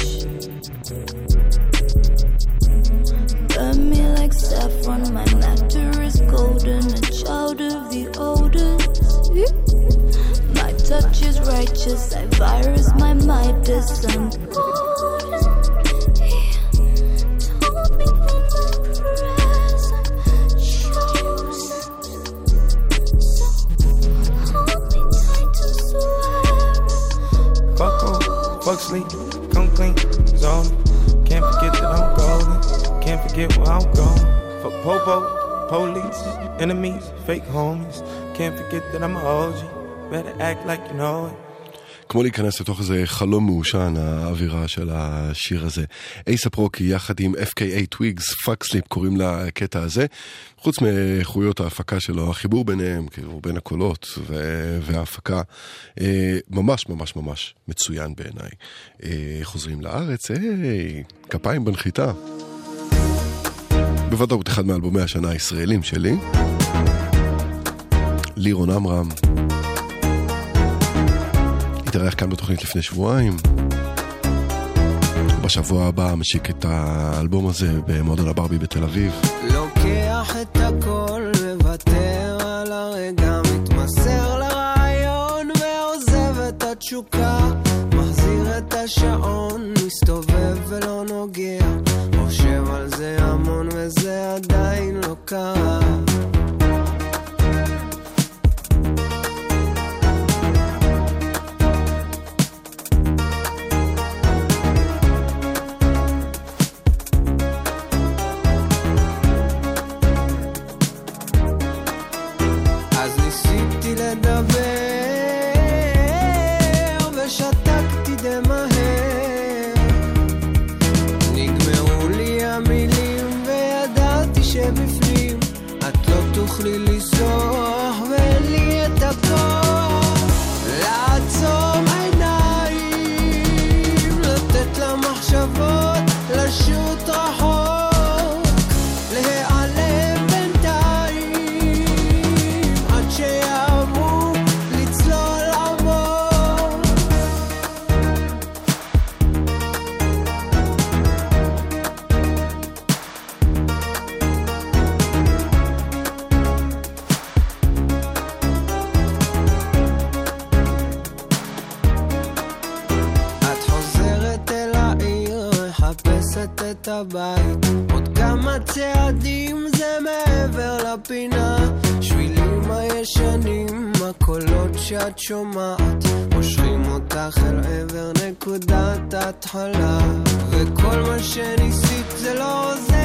Burn me like saffron. My nectar is golden. A child of the oldest. My touch is righteous. I virus my Midas. I'm golden. He told me from my present chosen. So hold me tight to swear. Fuck on, fuck sleep, come clean, zone. Can't forget that I'm golden. Can't forget where I'm going. Fuck popo, police, enemies, fake homies. Can't forget that I'm a O G. Better act like you know it. כמו להיכנס לתוך איזה חלום מאושן, האווירה של השיר הזה. אייסאפ רוקי יחד עם אף קיי איי Twigs, Fuck Sleep קוראים לקטע הזה. חוץ מאיכויות ההפקה שלו, החיבור ביניהם, כאילו בין הקולות ו- וההפקה, אה, ממש ממש ממש מצוין בעיניי. אה, חוזרים לארץ, היי, כפיים בנחיתה. בוודאות אחד מאלבומי השנה הישראלים שלי. לירון אמרם. התארח כאן בתוכנית לפני שבועיים. בשבוע הבא משיק את האלבום הזה במועדון הברבי בתל אביב. לוקח את הכל מוותר על הרגע, מתמסר לרעיון ועוזב את התשוקה, מחזיר את השעון, מסתובב ולא נוגע, חושב על זה המון וזה עדיין לא קרה. תוכלי לסוח ולי את הכוח לעצום עיניים, לתת למחשבות לשוט רחוק, להיעלם בינתיים עד שיעברו לצלול עמוק. את הבית, עוד כמה צעדים זה מעבר לפינה, שבילים הישנים, הקולות שאת שומעת, מושכים אותך אל עבר נקודת התחלה, וכל מה שניסית זה לא עוזר,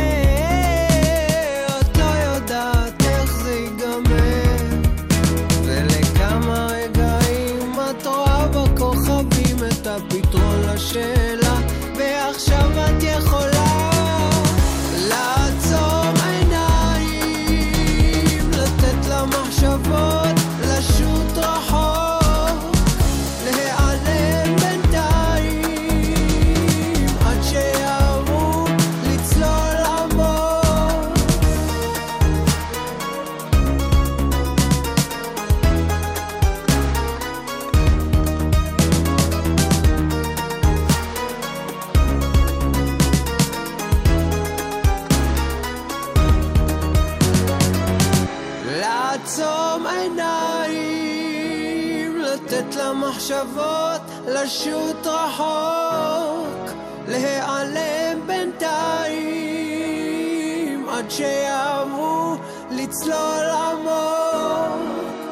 את לא יודעת איך זה ייגמר, ולכמה רגעים את רואה בכוכבים את הפתרון לשאלה, ועכשיו את יכולה לעצום עיניים, לתת למחשבות לשוט רחוק, להיעלם בינתיים עד שיערו לצלול עמוק. לעצום עיניים, לתת למחשבות לשוט רחוק, להיעלם בינתיים עד שיעברו לצלול עמוק.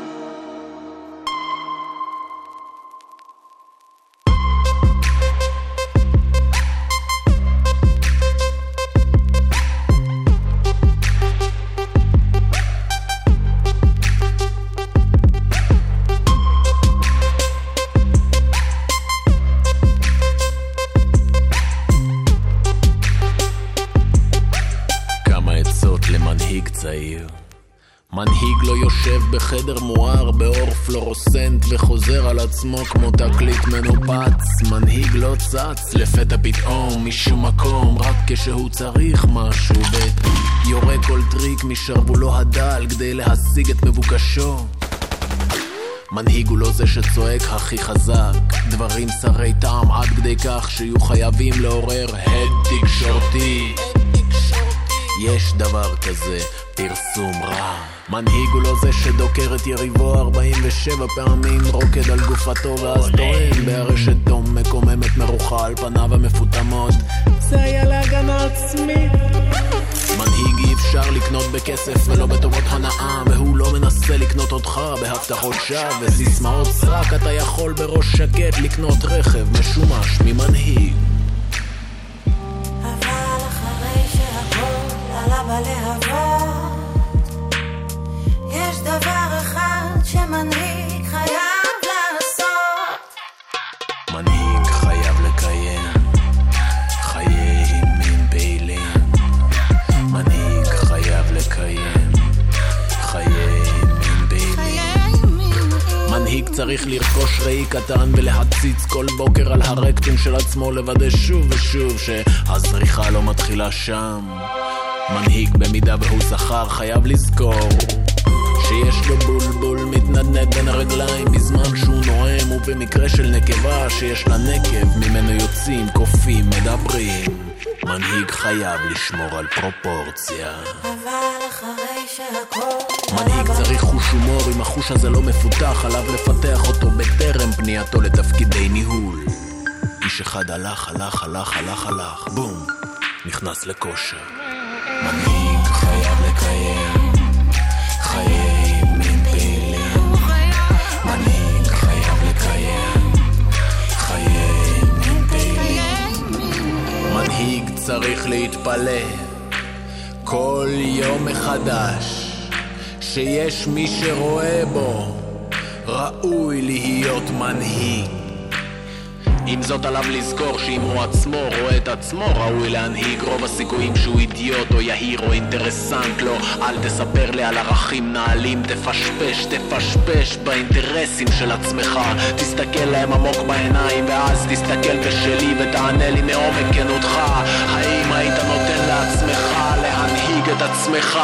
מנהיג לא יושב בחדר מואר באור פלורוסנט וחוזר על עצמו כמו תקליט מנופץ. מנהיג לא צץ לפתע פתאום משום מקום, רק כשהוא צריך משהו ויורה כל טריק משרבולו הדל כדי להשיג את מבוקשו. מנהיג הוא לא זה שצועק הכי חזק דברים שרי טעם עד כדי כך שיהיו חייבים לעורר הד תקשורתי. יש דבר כזה, פרסום רע. מנהיג הוא לא זה שדוקר את יריבו ארבעים ושבע פעמים, רוקד על גופתו ואז טוען בהרשת דום מקוממת מרוחה על פניו המפותמות, זה היה להגנה עצמית. מנהיג אי אפשר לקנות בכסף ולא בטובות הנאה, והוא לא מנסה לקנות אותך בהבטחות שווא וסיסמאות סרק. אתה יכול בראש שקט לקנות רכב משומש ממנהיג. אבל אחרי שהכל עלה בלהבות, יש דבר אחד שמנהיג חייב לעשות. מנהיג חייב לקיים חיי מין פעילים. מנהיג חייב לקיים חיי מין פעילים. מנהיג צריך לרכוש ראי קטן ולהציץ כל בוקר על הרקטום של עצמו, לוודא שוב ושוב שהזריחה לא מתחילה שם. מנהיג במידה והוא זכר חייב לזכור שיש לו בולבול מתנדנד בין הרגליים בזמן שהוא נואם, ובמקרה של נקבה שיש לה נקב ממנו יוצאים קופים מדברים. מנהיג חייב לשמור על פרופורציה. אבל אחרי שהכל מנהיג צריך חוש הומור, אם החוש הזה לא מפותח עליו לפתח אותו בטרם פנייתו לתפקידי ניהול. איש אחד הלך הלך הלך הלך הלך בום, נכנס לכושר. מנהיג חייב לקיים חיי מין פעילים. מנהיג חייב לקיים חיי מין פעילים. מנהיג צריך להתפלא כל יום מחדש שיש מי שרואה בו ראוי להיות מנהיג. עם זאת עליו לזכור שאם הוא עצמו רואה את עצמו ראוי להנהיג, רוב הסיכויים שהוא אידיוט או יהיר או אינטרסנט לו. אל תספר לי על ערכים נעלים, תפשפש, תפשפש באינטרסים של עצמך. תסתכל להם עמוק בעיניים ואז תסתכל בשלי ותענה לי מעומק כנותך, האם היית נותן לעצמך להנהיג את עצמך?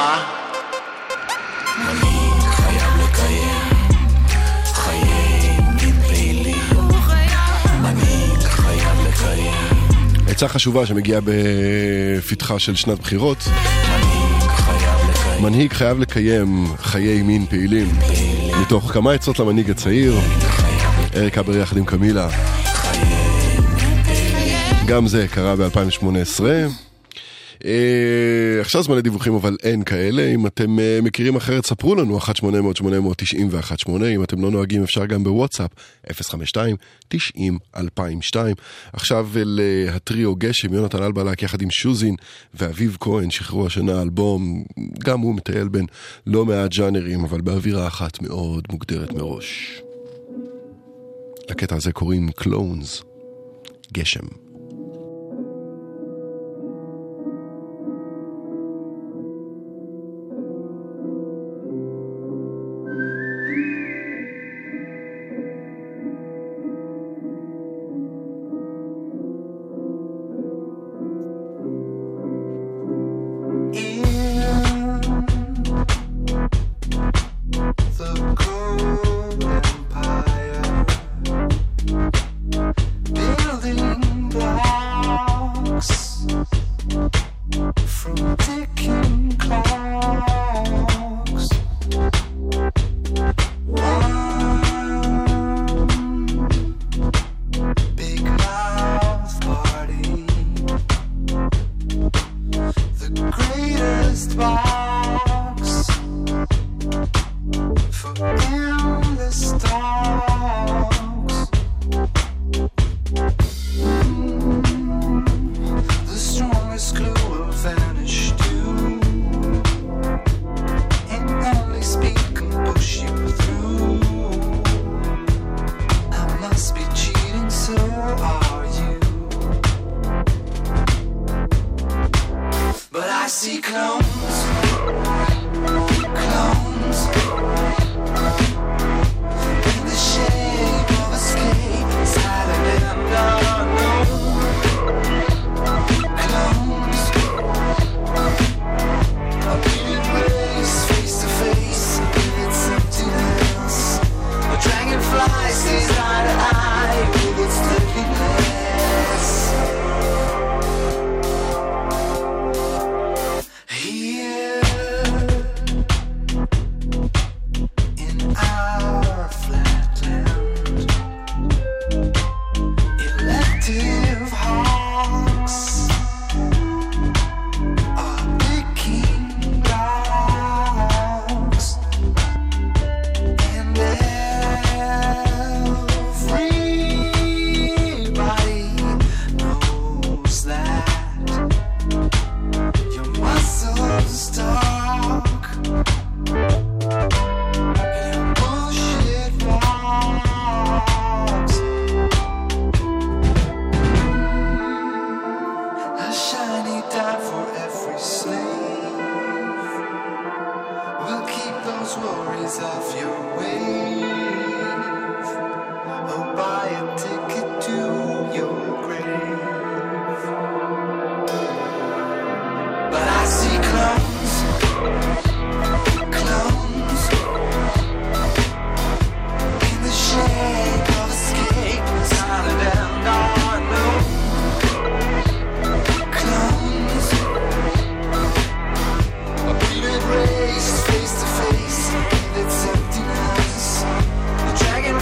מנהיג חייב לקיים חיי מין פעילים. מנהיג חייב לקיים. עצה חשובה שמגיעה בפתחה של שנת בחירות. מנהיג חייב לקיים. מנהיג חייב לקיים חיי מין פעילים. מתוך כמה עצות למנהיג הצעיר, אריק הבר יחד עם קמילה. גם זה קרה ב-אלפיים שמונה עשרה. עכשיו זמן לדיווחים, אבל אין כאלה. אם אתם מכירים אחרת, ספרו לנו, אחת שמונה אפס אפס שמונה אפס אפס תשעים ואחת שמונה. אם אתם לא נוהגים, אפשר גם בוואטסאפ, אפס חמש שתיים תשעים אלפיים ושתיים. עכשיו להטריו גשם, יונתן אלבלק יחד עם שוזין ואביב כהן, שחררו השנה אלבום, גם הוא מטייל בין לא מעט ז'אנרים, אבל באווירה אחת מאוד מוגדרת מראש. לקטע הזה קוראים קלונס, גשם. Face to face, it's emptiness. The dragon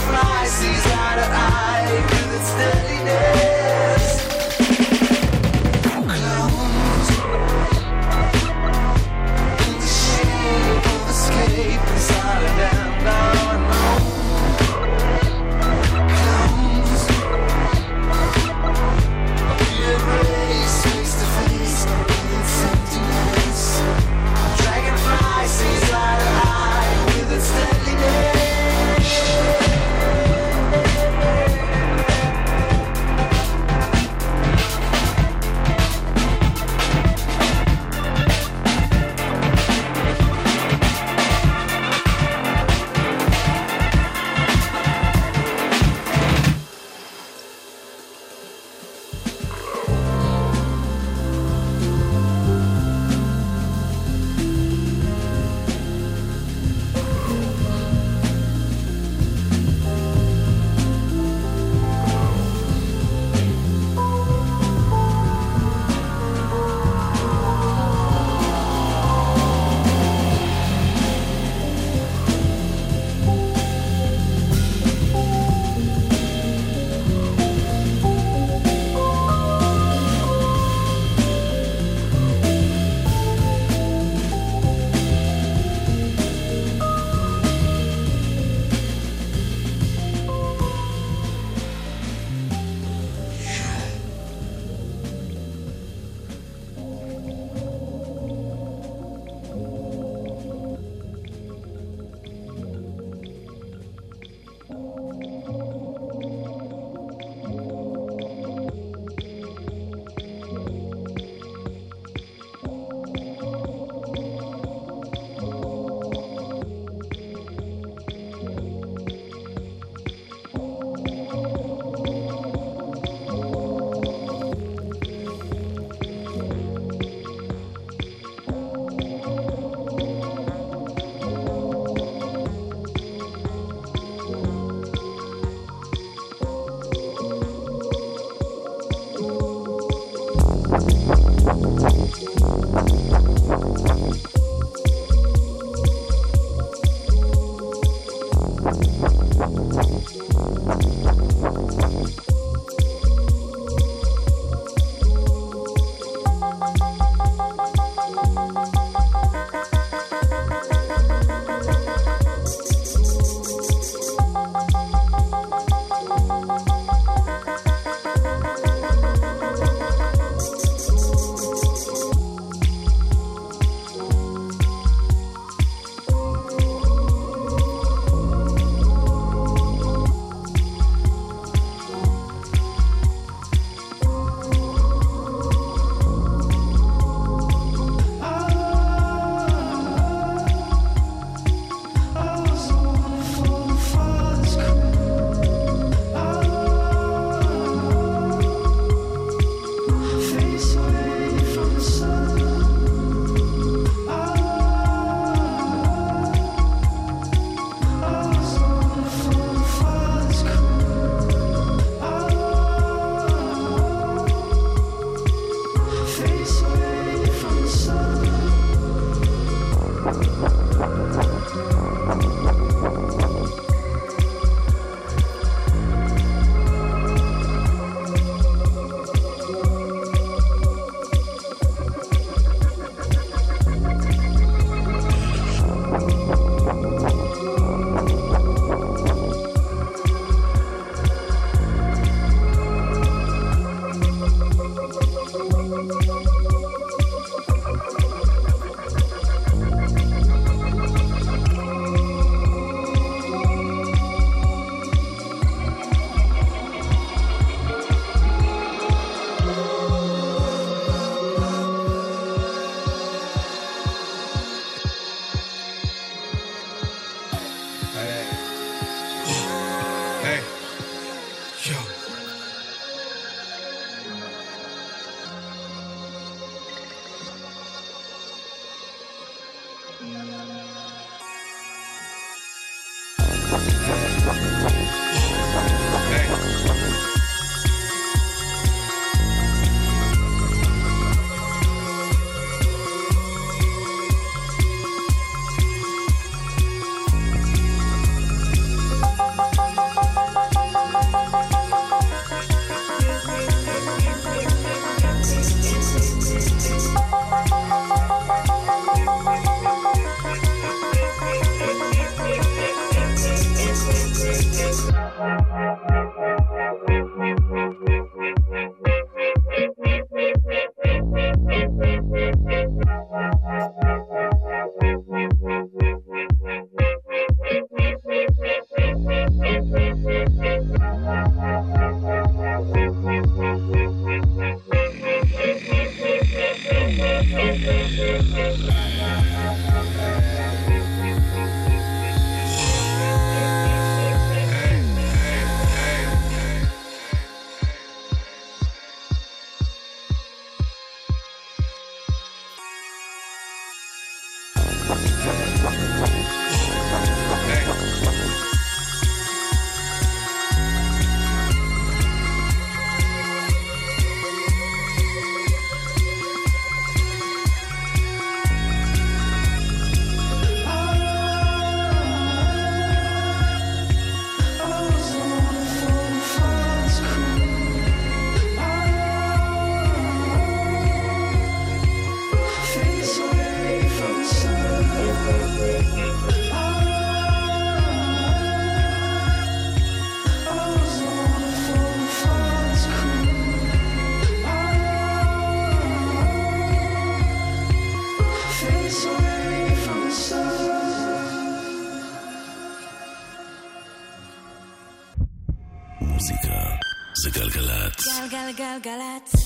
גלגלגלגלצ.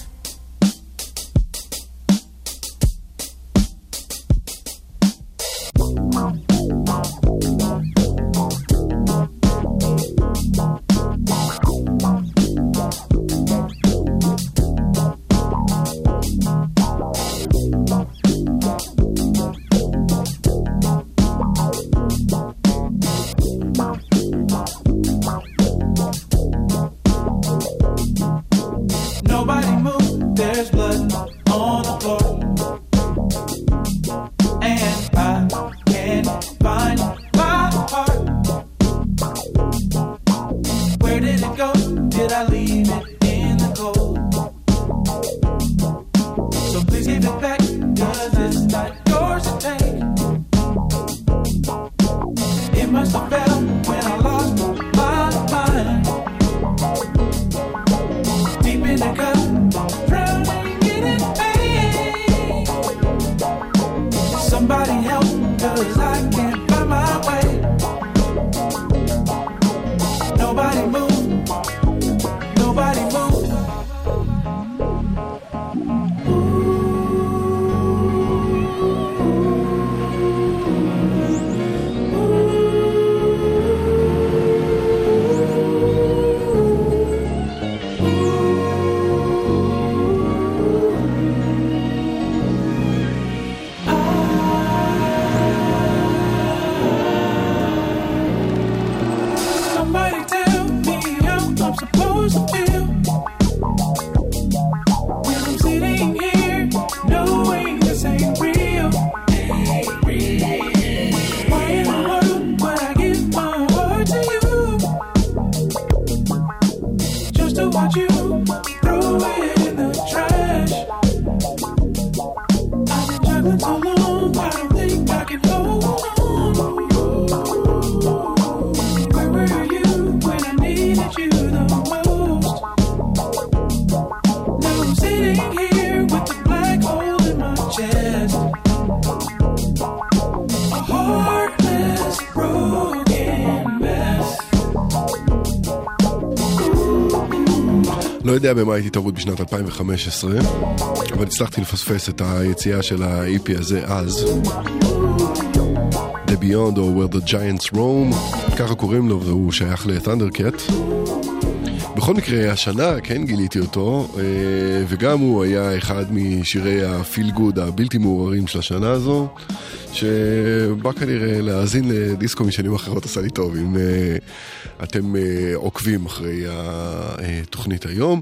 Nobody move. יודע במה הייתי תרוץ בשנת אלפיים וחמש עשרה, אבל הצלחתי לפספס את היציאה של ה-אי פי הזה אז. The Beyond or Where the Giants Roam, ככה קוראים לו, והוא שייך לת'נדרקט. בכל מקרה, השנה כן גיליתי אותו, וגם הוא היה אחד משירי הפיל גוד הבלתי מעוררים של השנה הזו, שבא כנראה להאזין לדיסקו משנים אחרות עשה לי טוב, אם אתם עוקבים אחרי התוכנית היום.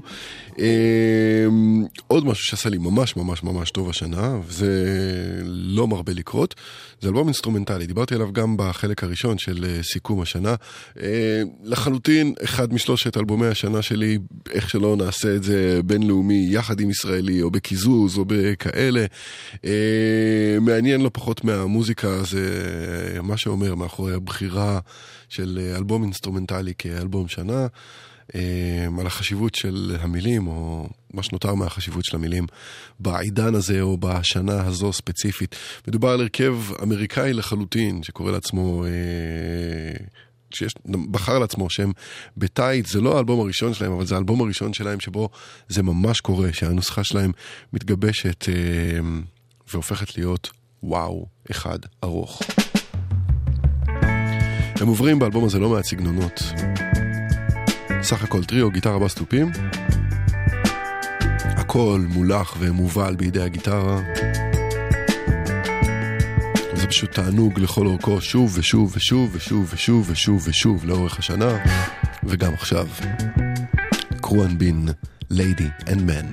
עוד משהו שעשה לי ממש ממש ממש טוב השנה, וזה לא מרבה לקרות, זה אלבום אינסטרומנטלי, דיברתי עליו גם בחלק הראשון של סיכום השנה. לחלוטין אחד משלושת אלבומי השנה שלי, איך שלא נעשה את זה בינלאומי יחד עם ישראלי או בקיזוז או בכאלה, מעניין לא פחות מהמוזיקה, זה מה שאומר מאחורי הבחירה של אלבום אינסטרומנטלי כאלבום שנה, על החשיבות של המילים, או מה שנותר מהחשיבות של המילים בעידן הזה או בשנה הזו ספציפית. מדובר על הרכב אמריקאי לחלוטין שקורא לעצמו, שיש, בחר לעצמו שם בטייט. זה לא האלבום הראשון שלהם, אבל זה האלבום הראשון שלהם שבו זה ממש קורה, שהנוסחה שלהם מתגבשת והופכת להיות וואו אחד ארוך. הם עוברים באלבום הזה לא מעט סגנונות, סך הכל טריו, גיטרה, בס, תופים, הכל מולח ומובל בידי הגיטרה. זה פשוט תענוג לכל אורכו, שוב ושוב ושוב ושוב ושוב ושוב ושוב לאורך השנה, וגם עכשיו. קרואן בין, ליידי אנד מן.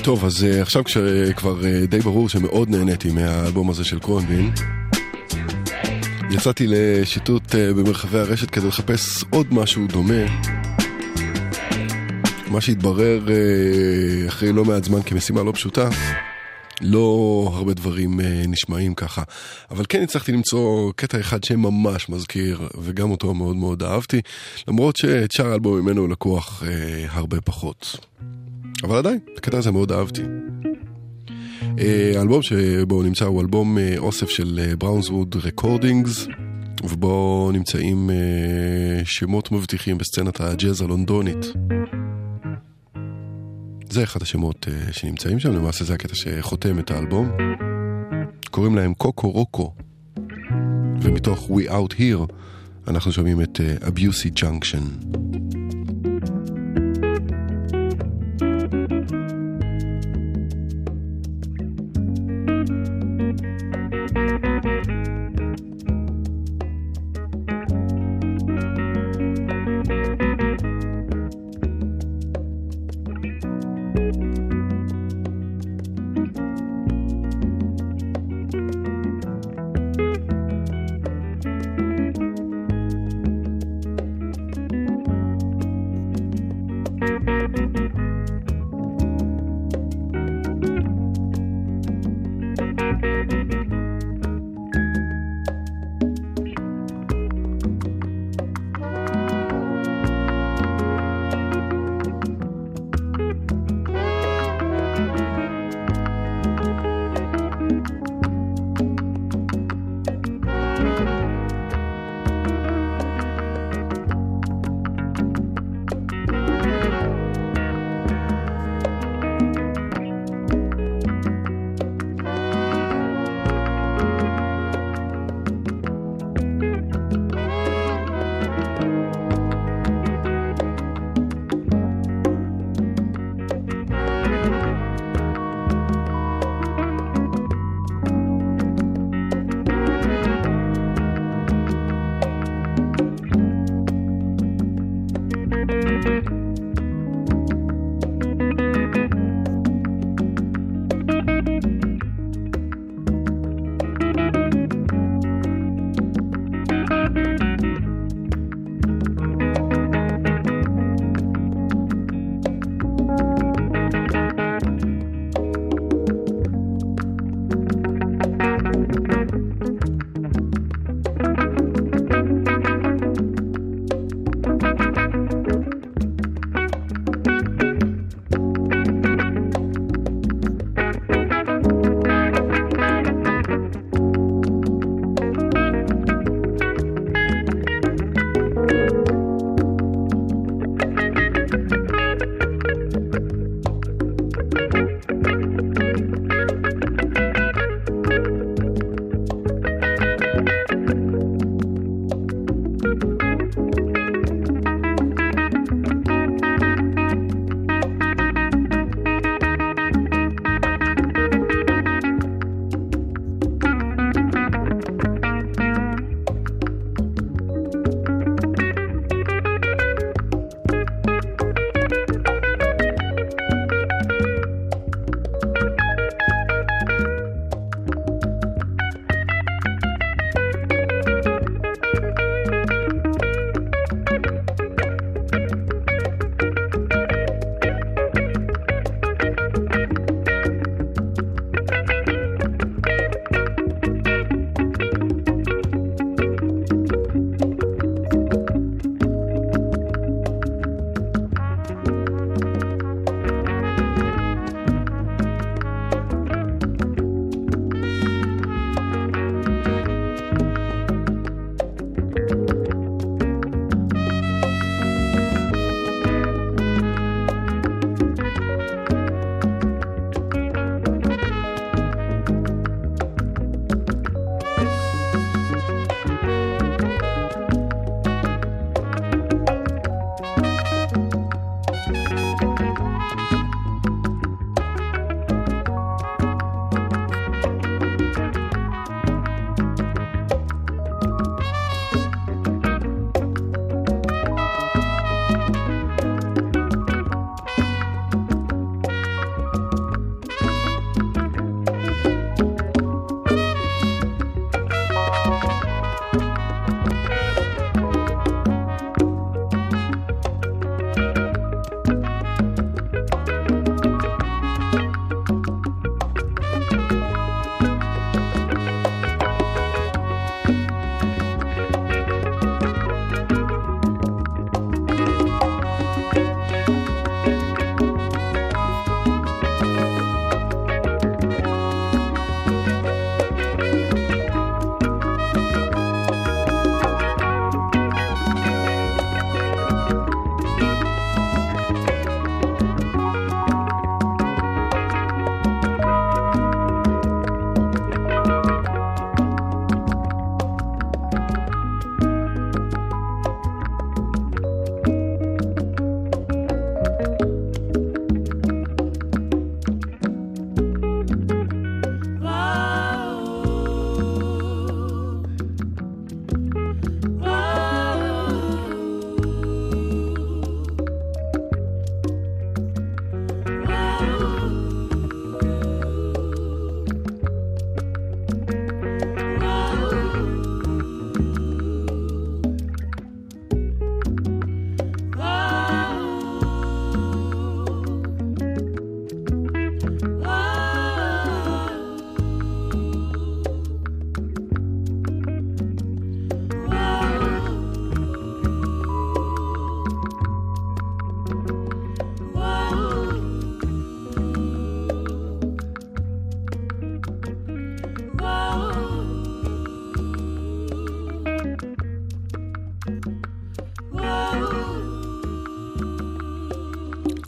טוב, אז uh, עכשיו כשכבר uh, די ברור שמאוד נהניתי מהאלבום הזה של קרונבין, יצאתי לשיטוט uh, במרחבי הרשת כדי לחפש עוד משהו דומה. מה שהתברר uh, אחרי לא מעט זמן כמשימה לא פשוטה, לא הרבה דברים uh, נשמעים ככה, אבל כן הצלחתי למצוא קטע אחד שממש מזכיר, וגם אותו מאוד מאוד אהבתי, למרות שאת שאר האלבום ממנו לקוח uh, הרבה פחות. אבל עדיין, את הקטע הזה מאוד אהבתי. האלבום שבו נמצא הוא אלבום אוסף של בראונסווד רקורדינגס, ובו נמצאים שמות מבטיחים בסצנת הג'אז הלונדונית. זה אחד השמות שנמצאים שם, למעשה זה הקטע שחותם את האלבום. קוראים להם קוקו רוקו, ומתוך We Out Here אנחנו שומעים את Abusey Junction.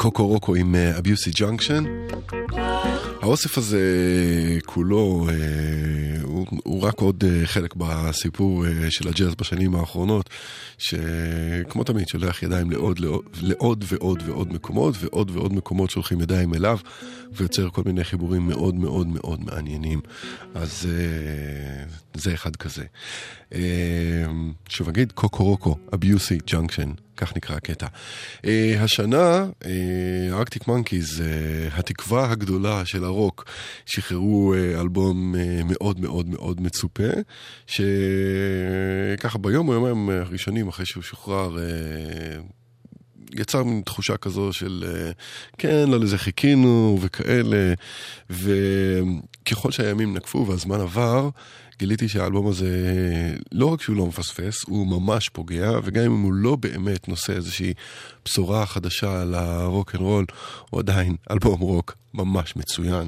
קוקו רוקו עם אביוסי ג'אנקשן. האוסף הזה כולו הוא, הוא רק עוד חלק בסיפור של הג'אז בשנים האחרונות, שכמו תמיד שולח ידיים לעוד, לעוד, לעוד ועוד ועוד מקומות, ועוד ועוד מקומות שולחים ידיים אליו, ויוצר כל מיני חיבורים מאוד מאוד מאוד מעניינים. אז זה אחד כזה. שוב אגיד, קוקו רוקו, אביוסי ג'אנקשן, כך נקרא הקטע. השנה, ארקטיק מנקיז, התקווה הגדולה של הרוק, שחררו אלבום מאוד מאוד מאוד מצופה, שככה ביום או יומיים הראשונים אחרי שהוא שוחרר, יצר תחושה כזו של כן, לא לזה חיכינו וכאלה, וככל שהימים נקפו והזמן עבר, גיליתי שהאלבום הזה לא רק שהוא לא מפספס, הוא ממש פוגע, וגם אם הוא לא באמת נושא איזושהי בשורה חדשה על הרוק אנד רול, הוא עדיין אלבום רוק ממש מצוין.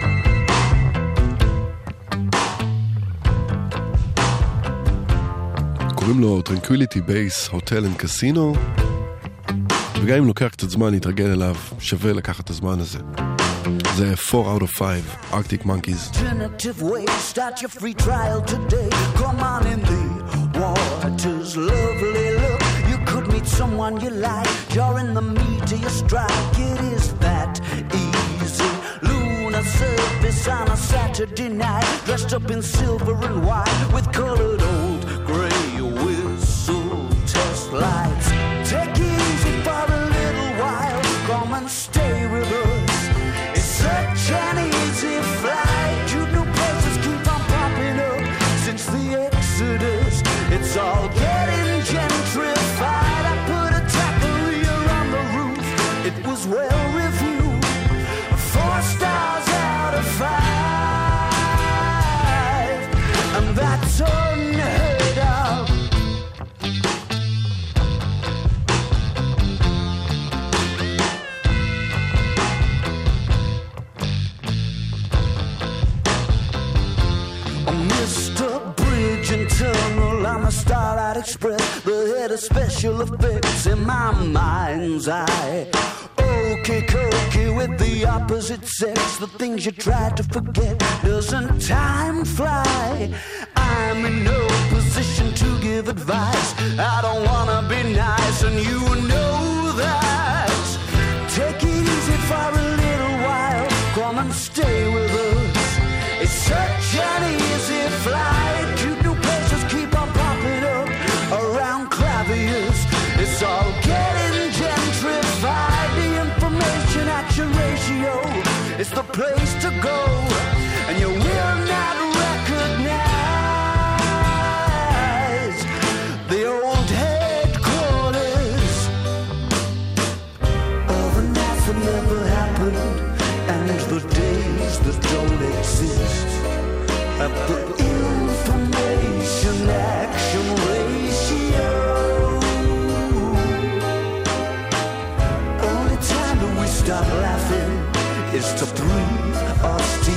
קוראים לו Tranquility Base Hotel and Casino, וגם אם לוקח קצת זמן להתרגל אליו, שווה לקחת את הזמן הזה. זה four out of five, Arctic Monkeys. Alternative way, start your free trial today. Come on in the waters, lovely look. You could meet someone you like during the meat of your strike. It is that easy. Lunar surface on a Saturday night, dressed up in silver and white with colored old gray whistle test lights. Take it easy for a little while, come and stay with us. It's such an easy flight, you new places keep on popping up since the Exodus. It's all getting gentrified. I put a taqueria on the roof, it was well reviewed, four stars out of five, and that's unheard of. Mister Bridge and Tunnel, I'm a Starlight Express, the head of special effects in my mind's eye. Okay, cookie with the opposite sex, the things you try to forget, doesn't time fly? I'm in no position to give advice, I don't wanna be nice, and you know that. Take it easy for a little while, come and stay with us. It's such an easy flight, cute new places keep on popping up around Clavius. It's all getting gentrified, the information action ratio is the place to go, and you will not recognize the old headquarters of a night that never happened, and the days that don't exist. At the information action ratio, only time that we stop laughing is to breathe or steal.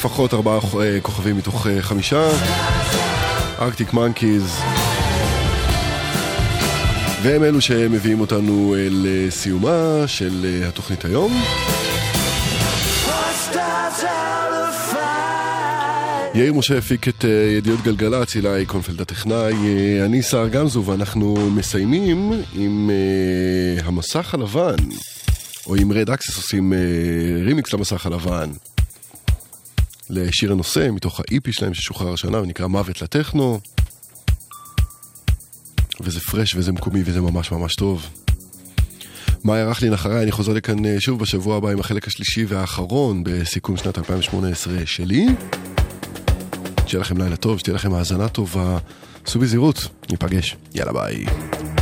לפחות ארבעה כוכבים מתוך חמישה. ארקטיק מנקיז. והם אלו שמביאים אותנו לסיומה של התוכנית היום. יאיר משה הפיק את ידיעות גלגלצ, אילי קונפלד הטכנאי, אני שר גמזו, ואנחנו מסיימים עם המסך הלבן, או עם רד אקסס עושים רימיקס למסך הלבן, לשיר הנושא מתוך ה-אי פי שלהם ששוחרר השנה, ונקרא מוות לטכנו, וזה פרש וזה מקומי וזה ממש ממש טוב. מה ירח לי נחרי, אני חוזר לכאן שוב בשבוע הבא עם החלק השלישי והאחרון בסיכום שנת אלפיים שמונה עשרה שלי. שיהיה לכם לילה טוב, שתהיה לכם האזנה טובה, סעו בזהירות, ניפגש, יאללה ביי.